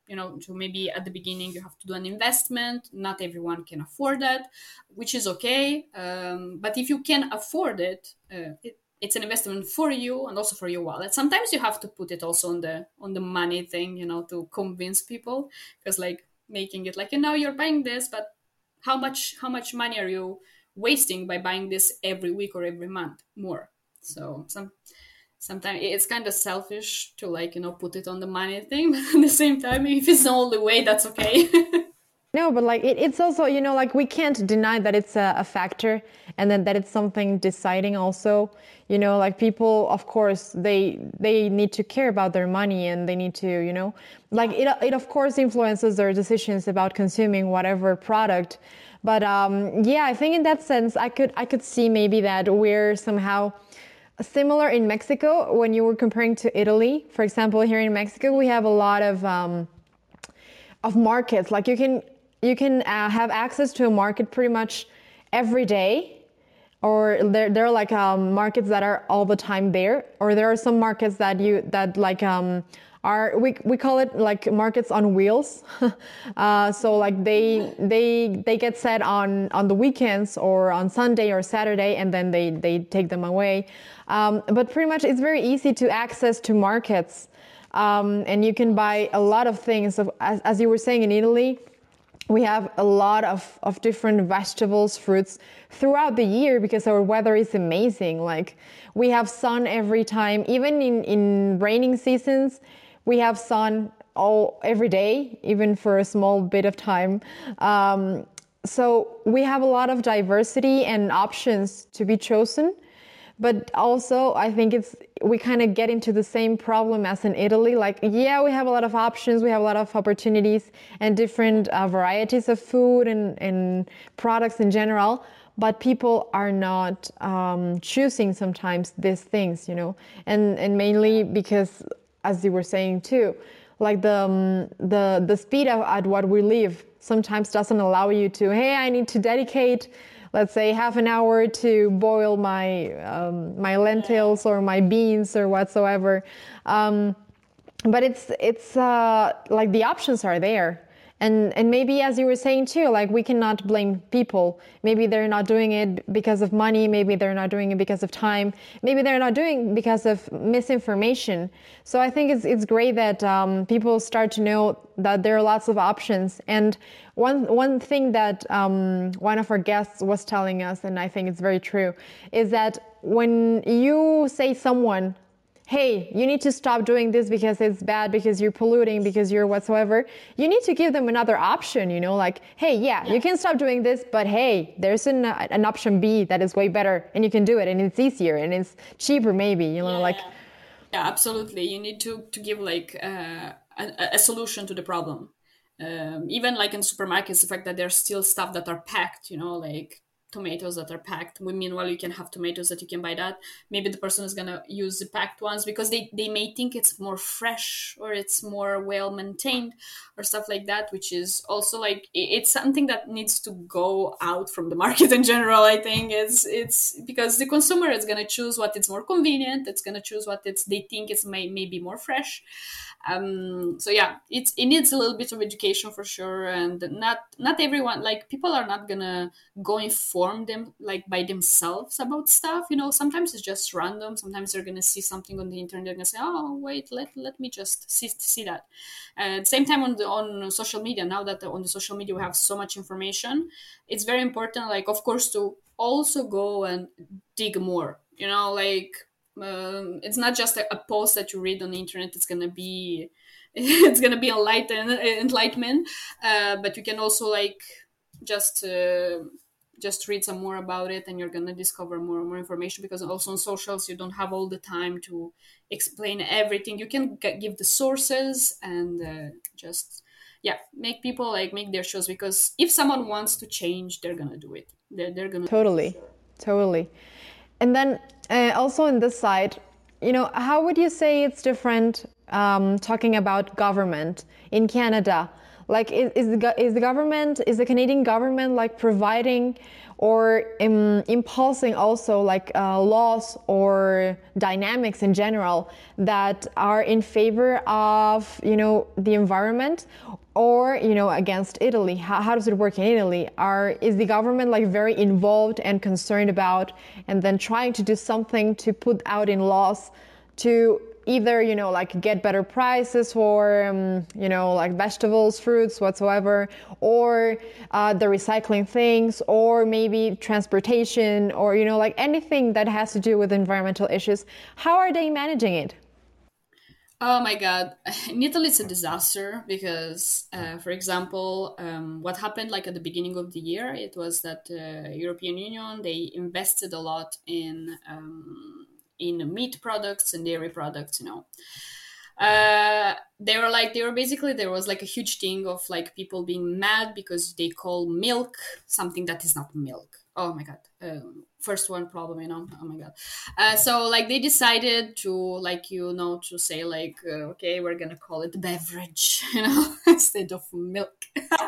[SPEAKER 2] to maybe at the beginning you have to do an investment. Not everyone can afford that, which is okay. But if you can afford it, it's an investment for you and also for your wallet. Sometimes you have to put it also on the money thing, to convince people, because like making it like, you're buying this, but how much money are you wasting by buying this every week or every month more? So sometimes it's kind of selfish to like, put it on the money thing, but at the same time, if it's the only way, that's okay.
[SPEAKER 3] No, but like it's also, like we can't deny that it's a factor, and that it's something deciding also. Like people, of course, they need to care about their money, and they need to, like it of course influences their decisions about consuming whatever product. But I think in that sense, I could see maybe that we're somehow similar in Mexico when you were comparing to Italy. For example, here in Mexico, we have a lot of markets. Like you can have access to a market pretty much every day, or there are like markets that are all the time there, or there are some markets that are we call it like markets on wheels. So like they get set on the weekends or on Sunday or Saturday, and then they take them away. But pretty much it's very easy to access to markets, and you can buy a lot of things. As you were saying, in Italy, we have a lot of different vegetables, fruits throughout the year because our weather is amazing. Like we have sun every time, even in raining seasons, we have sun every day, even for a small bit of time. So we have a lot of diversity and options to be chosen. But also, I think we kind of get into the same problem as in Italy. Like, we have a lot of options, we have a lot of opportunities and different varieties of food and products in general. But people are not choosing sometimes these things, and mainly because, as you were saying too, like the speed at what we live sometimes doesn't allow you to, hey, I need to dedicate, let's say, half an hour to boil my my lentils or my beans or whatsoever. But it's like the options are there. And maybe, as you were saying too, like we cannot blame people. Maybe they're not doing it because of money. Maybe they're not doing it because of time. Maybe they're not doing it because of misinformation. So I think it's great that people start to know that there are lots of options. And one thing that one of our guests was telling us, and I think it's very true, is that when you say someone, hey, you need to stop doing this because it's bad, because you're polluting, because you're whatsoever, you need to give them another option, like, hey, you can stop doing this, but hey, there's an option B that is way better, and you can do it, and it's easier, and it's cheaper maybe, like.
[SPEAKER 2] Yeah, absolutely. You need to give like a solution to the problem. Even like in supermarkets, the fact that there's still stuff that are packed, like tomatoes that are packed. Meanwhile, you can have tomatoes that you can buy that. Maybe the person is going to use the packed ones because they may think it's more fresh or it's more well maintained or stuff like that, which is also like, it's something that needs to go out from the market in general. I think it's because the consumer is going to choose what is more convenient. It's going to choose what they think is maybe more fresh. So yeah, it needs a little bit of education for sure. And not everyone, like people are not going to go inform them like by themselves about stuff. Sometimes it's just random. Sometimes they're gonna see something on the internet, they're gonna say, oh wait, let me just see that. At the same time, on social media, now that on the social media we have so much information, it's very important, like, of course, to also go and dig more, like it's not just a post that you read on the internet. It's gonna be enlightenment, but you can also like just read some more about it, and you're going to discover more and more information, because also on socials you don't have all the time to explain everything. You can give the sources and just make people like make their choice, because if someone wants to change, they're going to do it. They're going to
[SPEAKER 3] totally. And then also on this side, how would you say it's different talking about government in Canada? Like, is the Canadian government like providing or impulsing also like laws or dynamics in general that are in favor of, you know, the environment, or, you know, against Italy? How does it work in Italy? Is the government like very involved and concerned about, and then trying to do something to put out in laws to either, you know, like get better prices for, you know, like vegetables, fruits, whatsoever, or the recycling things, or maybe transportation, or, you know, like anything that has to do with environmental issues? How are they managing it?
[SPEAKER 2] Oh my God. In Italy, it's a disaster because, for example, what happened like at the beginning of the year, it was that European Union, they invested a lot in meat products and dairy products, you know. They were basically, there was like a huge thing of like people being mad because they call milk something that is not milk. Oh my God. First one problem, you know. Oh my God. So like they decided to, like, you know, to say like, okay, we're gonna call it beverage, you know, instead of milk.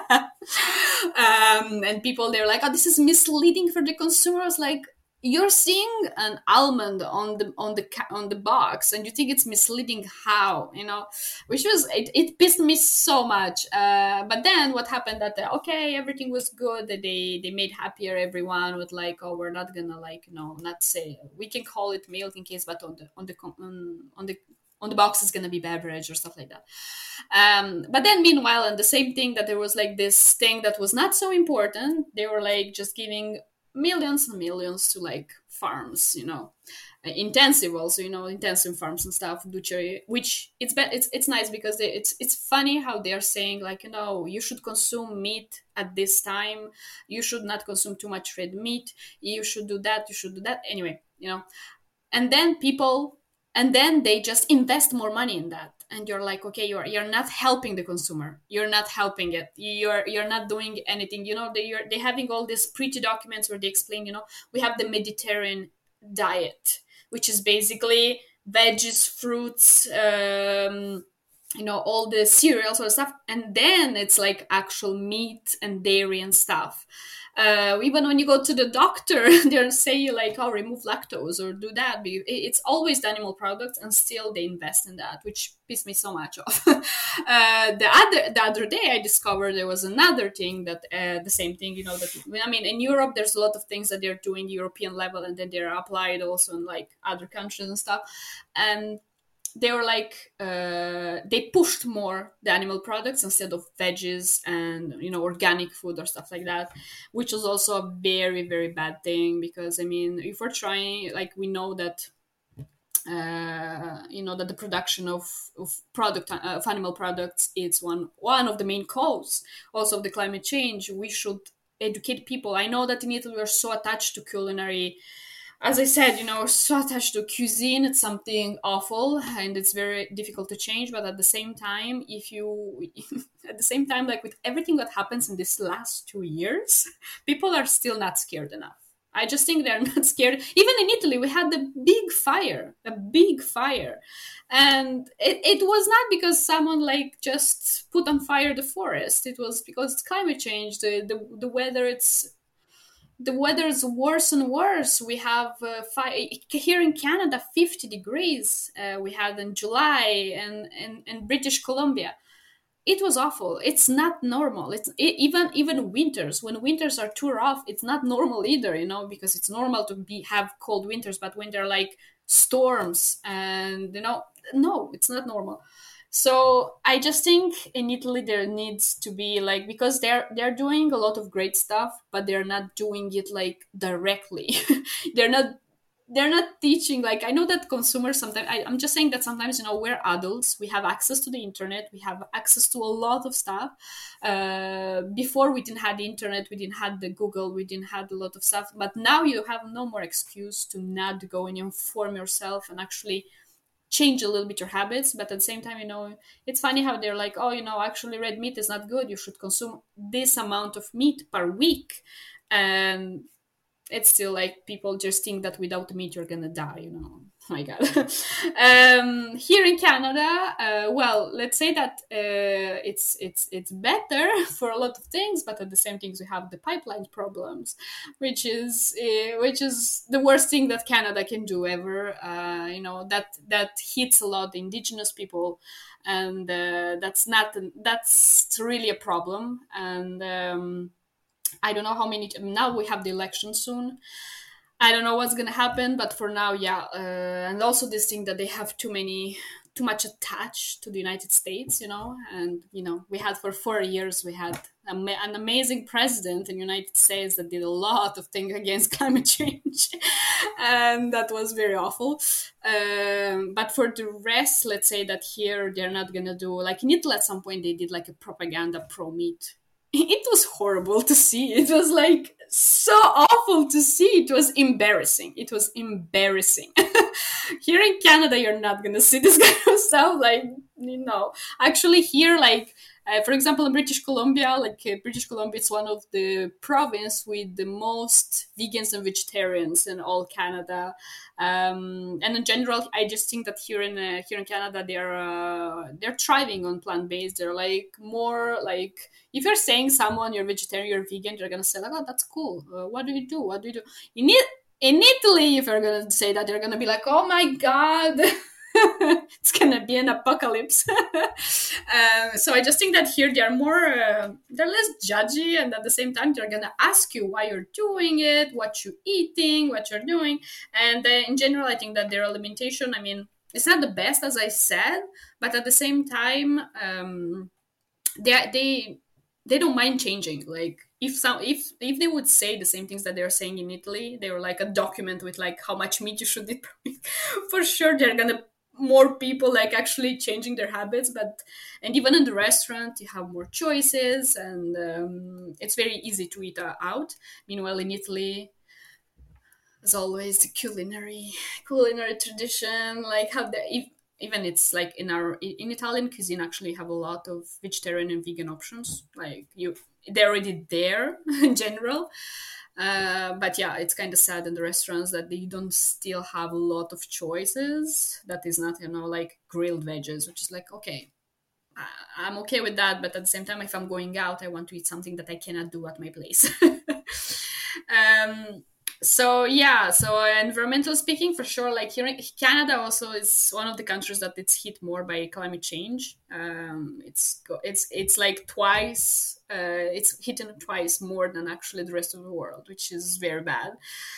[SPEAKER 2] And people, they're like, oh, this is misleading for the consumers. Like, you're seeing an almond on the box and you think it's misleading. How, you know? Which was, it pissed me so much. But then what happened that okay, everything was good, that they made happier everyone with like, oh, we're not gonna, like, you know, not say, we can call it milk in case, but on the box is gonna be beverage or stuff like that. But then meanwhile, and the same thing, that there was like this thing that was not so important, they were like just giving millions and millions to like farms, you know, intensive also, you know, intensive farms and stuff, which it's nice because it's funny how they are saying like, you know, you should consume meat at this time, you should not consume too much red meat, you should do that anyway, you know. And then they just invest more money in that, and you're like, okay, you're not helping the consumer, you're not helping it, you're not doing anything, you know. They're having all these pretty documents where they explain, you know, we have the Mediterranean diet, which is basically veggies, fruits, you know, all the cereals or stuff, and then it's like actual meat and dairy and stuff. Even when you go to the doctor, they'll say you like, oh, remove lactose or do that. But it's always the animal products, and still they invest in that, which pissed me so much off. The other day, I discovered there was another thing that the same thing, you know, that, I mean, in Europe, there's a lot of things that they're doing European level, and then they're applied also in like other countries and stuff. And they were like, they pushed more the animal products instead of veggies and, you know, organic food or stuff like that, which was also a very, very bad thing. Because, I mean, if we're trying, like, we know that, you know, that the production of animal products, it's one of the main causes also of the climate change. We should educate people. I know that in Italy we're so attached to culinary, as I said, you know, so attached to cuisine. It's something awful and it's very difficult to change. But at the same time, like with everything that happens in these last 2 years, people are still not scared enough. I just think they're not scared. Even in Italy, we had a big fire. And it was not because someone like just put on fire the forest. It was because it's climate change. The weather, the weather is worse and worse. We have here in Canada 50 degrees. We had in July and in British Columbia. It was awful. It's not normal. Even winters. When winters are too rough, it's not normal either, you know, because it's normal to have cold winters, but when they're like storms and, you know, no, it's not normal. So I just think in Italy there needs to be like, because they're doing a lot of great stuff, but they're not doing it like directly. they're not teaching, like, I know that consumers sometimes, I'm just saying that sometimes, you know, we're adults, we have access to the internet, we have access to a lot of stuff. Before we didn't have the internet, we didn't have the Google, we didn't have a lot of stuff, but now you have no more excuse to not go and inform yourself and actually change a little bit your habits. But at the same time, you know, it's funny how they're like, oh, you know, actually red meat is not good, you should consume this amount of meat per week. And it's still like people just think that without meat you're gonna die, you know. my God. Here in Canada, well, let's say that it's better for a lot of things, but at the same things we have the pipeline problems, which is the worst thing that Canada can do ever. That hits a lot the Indigenous people, and that's really a problem. And I don't know how many. Now we have the election soon. I don't know what's gonna happen, but for now, yeah. And also this thing that they have too much attached to the United States, and we had for 4 years we had an amazing president in the United States that did a lot of things against climate change, and that was very awful. But for the rest, let's say that here they're not gonna do, like in Italy at some point they did like a propaganda pro meat. It was horrible to see. It was like so awful to see. It was embarrassing. Here in Canada, you're not gonna see this kind of stuff. Actually here, for example, in British Columbia, it's one of the province with the most vegans and vegetarians in all Canada. And in general, I just think that here in Canada, they're thriving on plant-based. They're more if you're saying someone you're vegetarian, you're vegan, they're gonna say oh, that's cool. What do you do? In Italy, if you're gonna say that, they're gonna be like, oh my God. It's gonna be an apocalypse. So I just think that here they're less judgy, and at the same time they're gonna ask you why you're doing it, what you're eating, what you're doing. And in general, I think that their alimentation, it's not the best, as I said, but at the same time, they don't mind changing. If they would say the same things that they're saying in Italy, they were like a document with how much meat you should eat per week. For sure, they're gonna more people actually changing their habits. And even in the restaurant, you have more choices, and it's very easy to eat out. Meanwhile, in Italy, as always, the culinary tradition, even it's in Italian cuisine actually have a lot of vegetarian and vegan options. They're already there in general. But yeah, it's kind of sad in the restaurants that they don't still have a lot of choices. That is not, grilled veggies, which is okay, I'm okay with that. But at the same time, if I'm going out, I want to eat something that I cannot do at my place. So environmental speaking, for sure, here in Canada also is one of the countries that it's hit more by climate change. It's like twice, it's hit twice more than actually the rest of the world, which is very bad.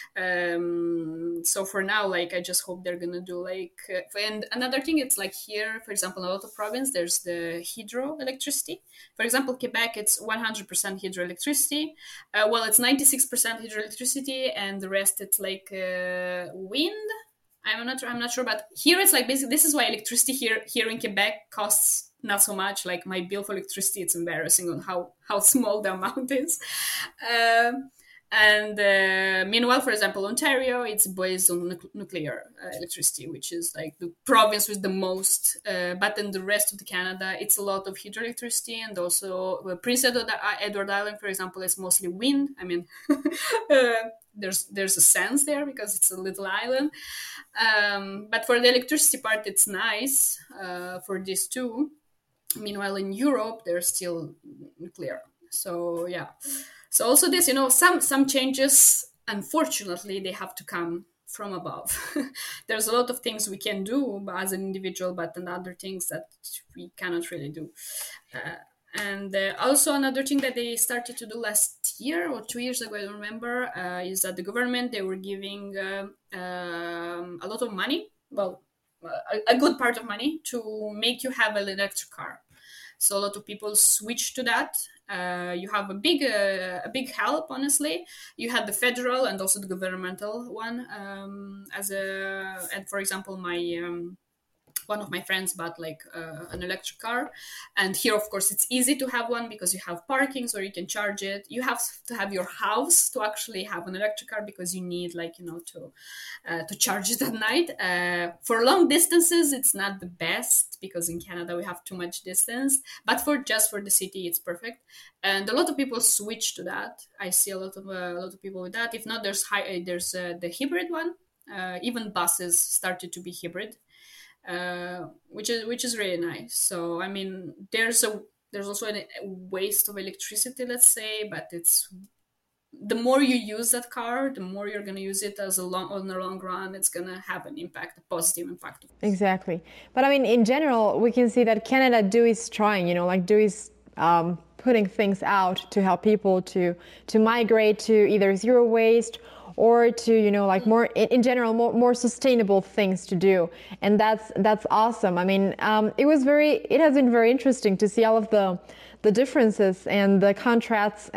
[SPEAKER 2] So for now, I just hope they're gonna do and another thing, it's here, for example, in a lot of province, there's the hydroelectricity. For example, Quebec, it's 100% hydroelectricity. It's 96% hydroelectricity, and the rest it's wind. I'm not sure, but here it's basically this is why electricity here in Quebec costs not so much. My bill for electricity, it's embarrassing on how small the amount is. Meanwhile, for example, Ontario, it's based on nuclear electricity, which is the province with the most. But in the rest of the Canada, it's a lot of hydroelectricity, and also Prince Edward Island, for example, is mostly wind. There's a sense there because it's a little island. But for the electricity part, it's nice for this too. Meanwhile, in Europe, there's still nuclear. So yeah. So also this, some changes, unfortunately, they have to come from above. There's a lot of things we can do as an individual, but then other things that we cannot really do. And also another thing that they started to do last year or 2 years ago, I don't remember, is that the government, they were giving a lot of money, a good part of money to make you have an electric car. So a lot of people switched to that. You have a big help, honestly. You had the federal and also the governmental one. And for example, one of my friends bought an electric car, and here of course it's easy to have one because you have parking where you can charge it. You have to have your house to actually have an electric car because you need to charge it at night. For long distances it's not the best because in Canada we have too much distance, but for the city it's perfect, and a lot of people switch to that. I see a lot of people with that. If not, there's the hybrid one. Even buses started to be hybrid, which is really nice. So I mean, there's also a waste of electricity, let's say, but it's the more you use that car, the more you're going to use it on the long run. It's going to have an impact, a positive impact.
[SPEAKER 3] Exactly. But I mean, in general, we can see that Canada is trying, is putting things out to help people to migrate to either zero waste or to more in general more sustainable things to do, and that's awesome. I mean, it has been very interesting to see all of the differences and the contrasts,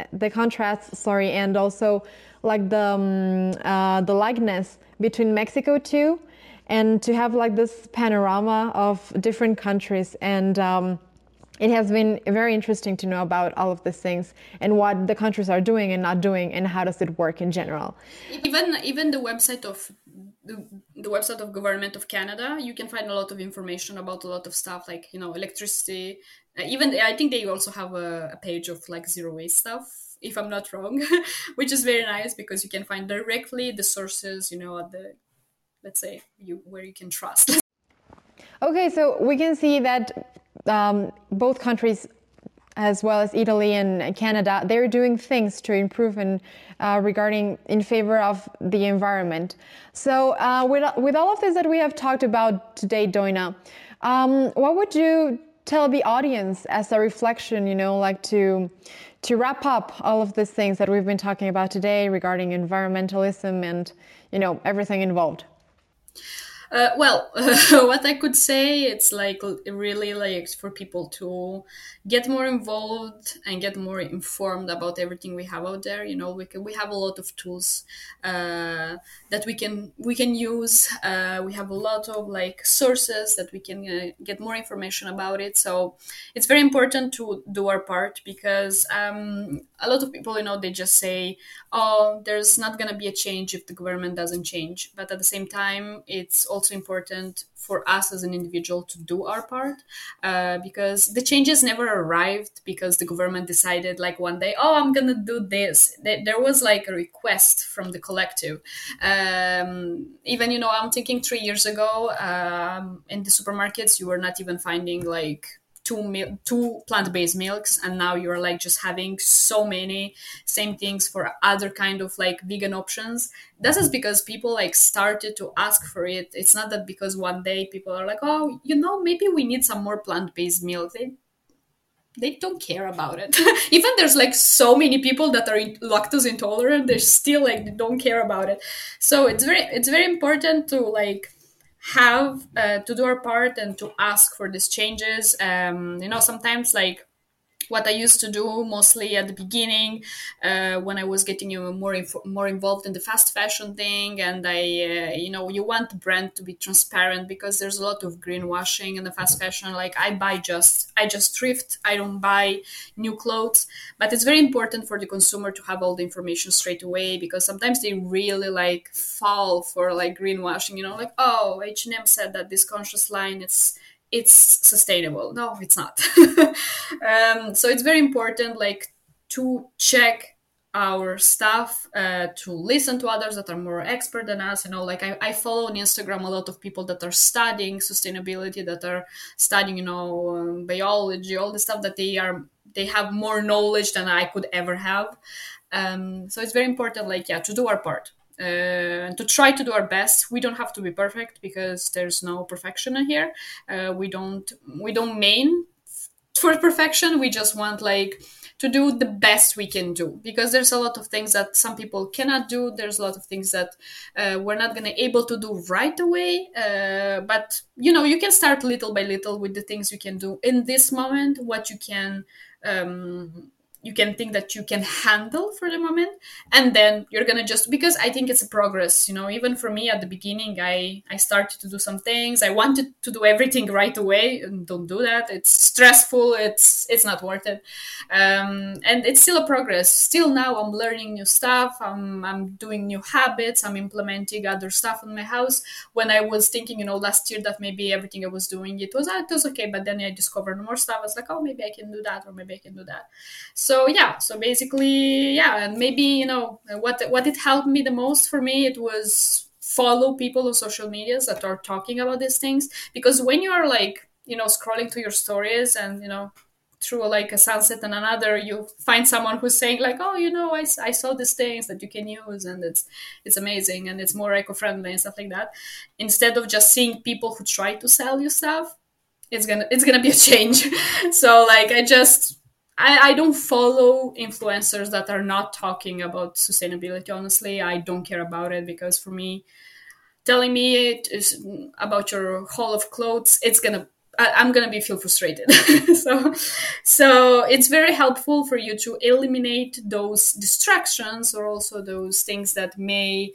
[SPEAKER 3] and also like the likeness between Mexico too, and to have like this panorama of different countries. And it has been very interesting to know about all of these things and what the countries are doing and not doing, and how does it work in general.
[SPEAKER 2] Even the website of the website of Government of Canada, you can find a lot of information about a lot of stuff, like electricity. Even I think they also have a page of like zero waste stuff, if I'm not wrong, which is very nice because you can find directly the sources, at the, let's say, where you can trust.
[SPEAKER 3] Okay, so we can see that both countries, as well as Italy and Canada, they're doing things to improve and regarding in favor of the environment. So with all of this that we have talked about today, Doina, what would you tell the audience as a reflection, like to wrap up all of these things that we've been talking about today regarding environmentalism and, everything involved?
[SPEAKER 2] Well, what I could say, it's like really like for people to get more involved and get more informed about everything we have out there. We have a lot of tools that we can use. We have a lot of like sources that we can get more information about it. So it's very important to do our part, because a lot of people, they just say, oh, there's not going to be a change if the government doesn't change. But at the same time, it's also important for us as an individual to do our part, because the changes never arrived because the government decided like one day, oh, I'm gonna do this. There was like a request from the collective. Even I'm thinking 3 years ago, in the supermarkets you were not even finding like two plant-based milks, and now you're like just having so many same things for other kind of like vegan options. This is because people like started to ask for it. It's not that because one day people are like, oh, maybe we need some more plant-based milk. They don't care about it. Even there's like so many people that are lactose intolerant, they're still like, they don't care about it. So it's very important to like have to do our part and to ask for these changes. Sometimes like what I used to do mostly at the beginning, when I was getting more involved in the fast fashion thing, and you want the brand to be transparent, because there's a lot of greenwashing in the fast fashion. Like I just thrift, I don't buy new clothes, but it's very important for the consumer to have all the information straight away, because sometimes they really like fall for like greenwashing. Like, oh, H&M said that this conscious line it's sustainable. No, it's not. So it's very important like to check our stuff, to listen to others that are more expert than us. Like I follow on Instagram a lot of people that are studying sustainability, that are studying biology, all the stuff that they have more knowledge than I could ever have. So it's very important to do our part. And to try to do our best. We don't have to be perfect, because there's no perfection in here. We don't main for perfection. We just want to do the best we can do, because there's a lot of things that some people cannot do. There's a lot of things that we're not going to able to do right away. But you can start little by little with the things you can do in this moment, what you can think that you can handle for the moment, and then you're gonna just, because I think it's a progress. Even for me at the beginning, I started to do some things. I wanted to do everything right away, and don't do that. It's stressful. It's not worth it. And it's still a progress. Still now I'm learning new stuff. I'm doing new habits. I'm implementing other stuff in my house. When I was thinking, last year that maybe everything I was doing, it was okay, but then I discovered more stuff. I was like, oh, maybe I can do that, or maybe I can do that. So basically, and maybe what it helped me the most, for me, it was follow people on social medias that are talking about these things, because when you are like, scrolling through your stories and, through like a sunset and another, you find someone who's saying like, oh, I saw these things that you can use and it's amazing and it's more eco-friendly and stuff like that. Instead of just seeing people who try to sell you stuff, it's gonna be a change. So like I don't follow influencers that are not talking about sustainability. Honestly, I don't care about it, because for me, telling me it is about your haul of clothes, I'm gonna feel frustrated. so it's very helpful for you to eliminate those distractions, or also those things that may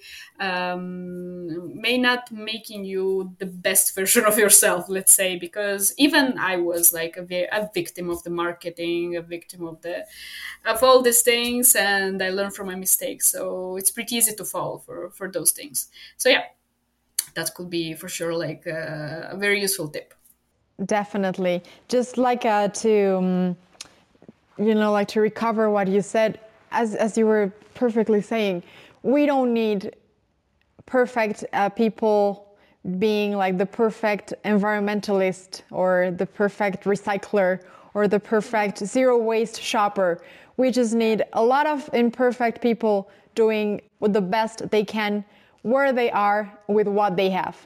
[SPEAKER 2] not making you the best version of yourself, let's say, because even I was like a victim of the marketing, a victim of all these things, and I learned from my mistakes. So it's pretty easy to fall for those things. So yeah, that could be for sure like a very useful tip.
[SPEAKER 3] Definitely. Just like to recover what you said, as you were perfectly saying, we don't need perfect people being like the perfect environmentalist or the perfect recycler or the perfect zero waste shopper. We just need a lot of imperfect people doing the best they can where they are with what they have.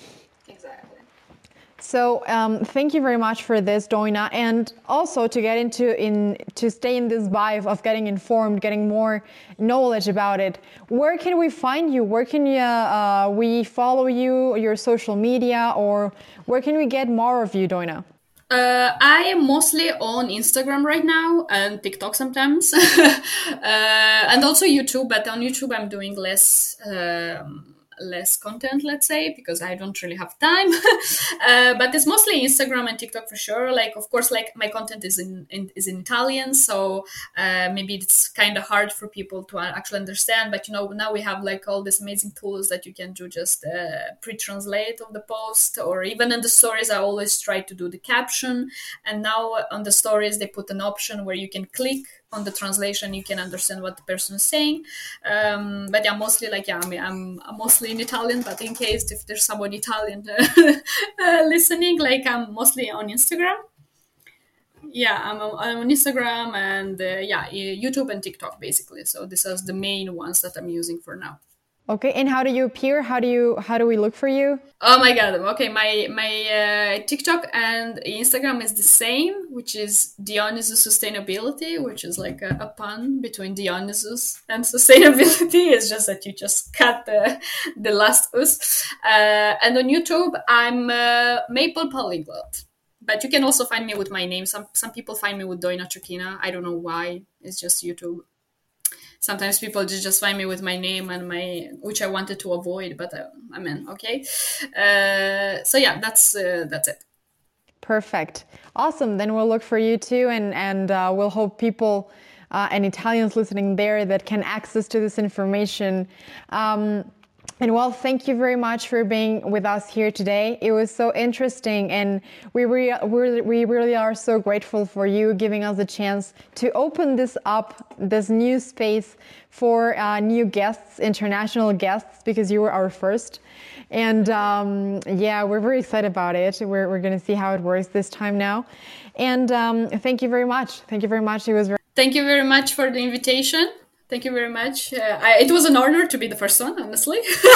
[SPEAKER 3] So thank you very much for this, Doina, and also to get to stay in this vibe of getting informed, getting more knowledge about it. Where can we find you? Where can we follow you, your social media, or where can we get more of you, Doina?
[SPEAKER 2] I am mostly on Instagram right now and TikTok sometimes, and also YouTube. But on YouTube, I'm doing less content, let's say, because I don't really have time. But it's mostly Instagram and TikTok for sure. Like, of course, like my content is in Italian, so maybe it's kind of hard for people to actually understand. But now we have like all these amazing tools that you can do, just pre-translate of the post, or even in the stories, I always try to do the caption. And now on the stories, they put an option where you can click on the translation, you can understand what the person is saying. But yeah, mostly like, I'm mostly in Italian, but in case if there's someone Italian listening, like I'm mostly on Instagram. Yeah, I'm on Instagram and YouTube and TikTok basically. So these are the main ones that I'm using for now.
[SPEAKER 3] Okay, and how do you appear? How do we look for you?
[SPEAKER 2] Oh my god! Okay, my TikTok and Instagram is the same, which is Dionysus Sustainability, which is like a pun between Dionysus and sustainability. It's just that you just cut the last us. And on YouTube, I'm Maple Polyglot. But you can also find me with my name. Some people find me with Doina Chukina. I don't know why. It's just YouTube. Sometimes people just find me with my name and which I wanted to avoid, but okay. So yeah, that's it.
[SPEAKER 3] Perfect. Awesome. Then we'll look for you too, and we'll hope people and Italians listening there that can access to this information. And well, thank you very much for being with us here today. It was so interesting, and we really are so grateful for you giving us a chance to open this new space for new guests, international guests, because you were our first. And we're very excited about it. We're going to see how it works this time now. And thank you very much. Thank you very much.
[SPEAKER 2] Thank you very much for the invitation. Thank you very much. It was an honor to be the first one, honestly.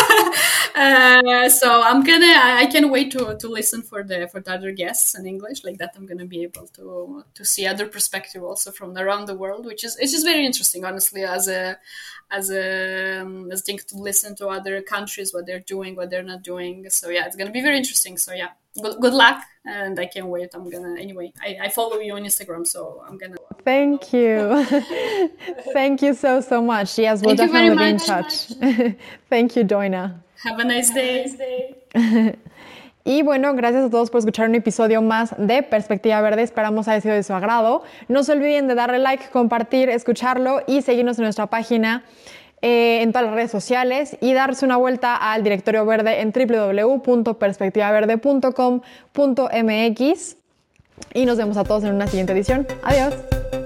[SPEAKER 2] So I can't wait to listen for the other guests in English. Like that, I'm gonna be able to see other perspective also from around the world, it's just very interesting, honestly, as a thing to listen to other countries, what they're doing, what they're not doing. So yeah, it's gonna be very interesting. So yeah, good luck, and I can't wait. I follow you on Instagram, so I'm gonna.
[SPEAKER 3] Thank you. Thank you so much. Yes, we'll definitely be in touch. Thank you, Doina.
[SPEAKER 2] Have a nice day.
[SPEAKER 3] Y bueno, gracias a todos por escuchar un episodio más de Perspectiva Verde. Esperamos haya sido de su agrado. No se olviden de darle like, compartir, escucharlo y seguirnos en nuestra página en todas las redes sociales y darse una vuelta al directorio verde en www.perspectivaverde.com.mx. Y nos vemos a todos en una siguiente edición. Adiós.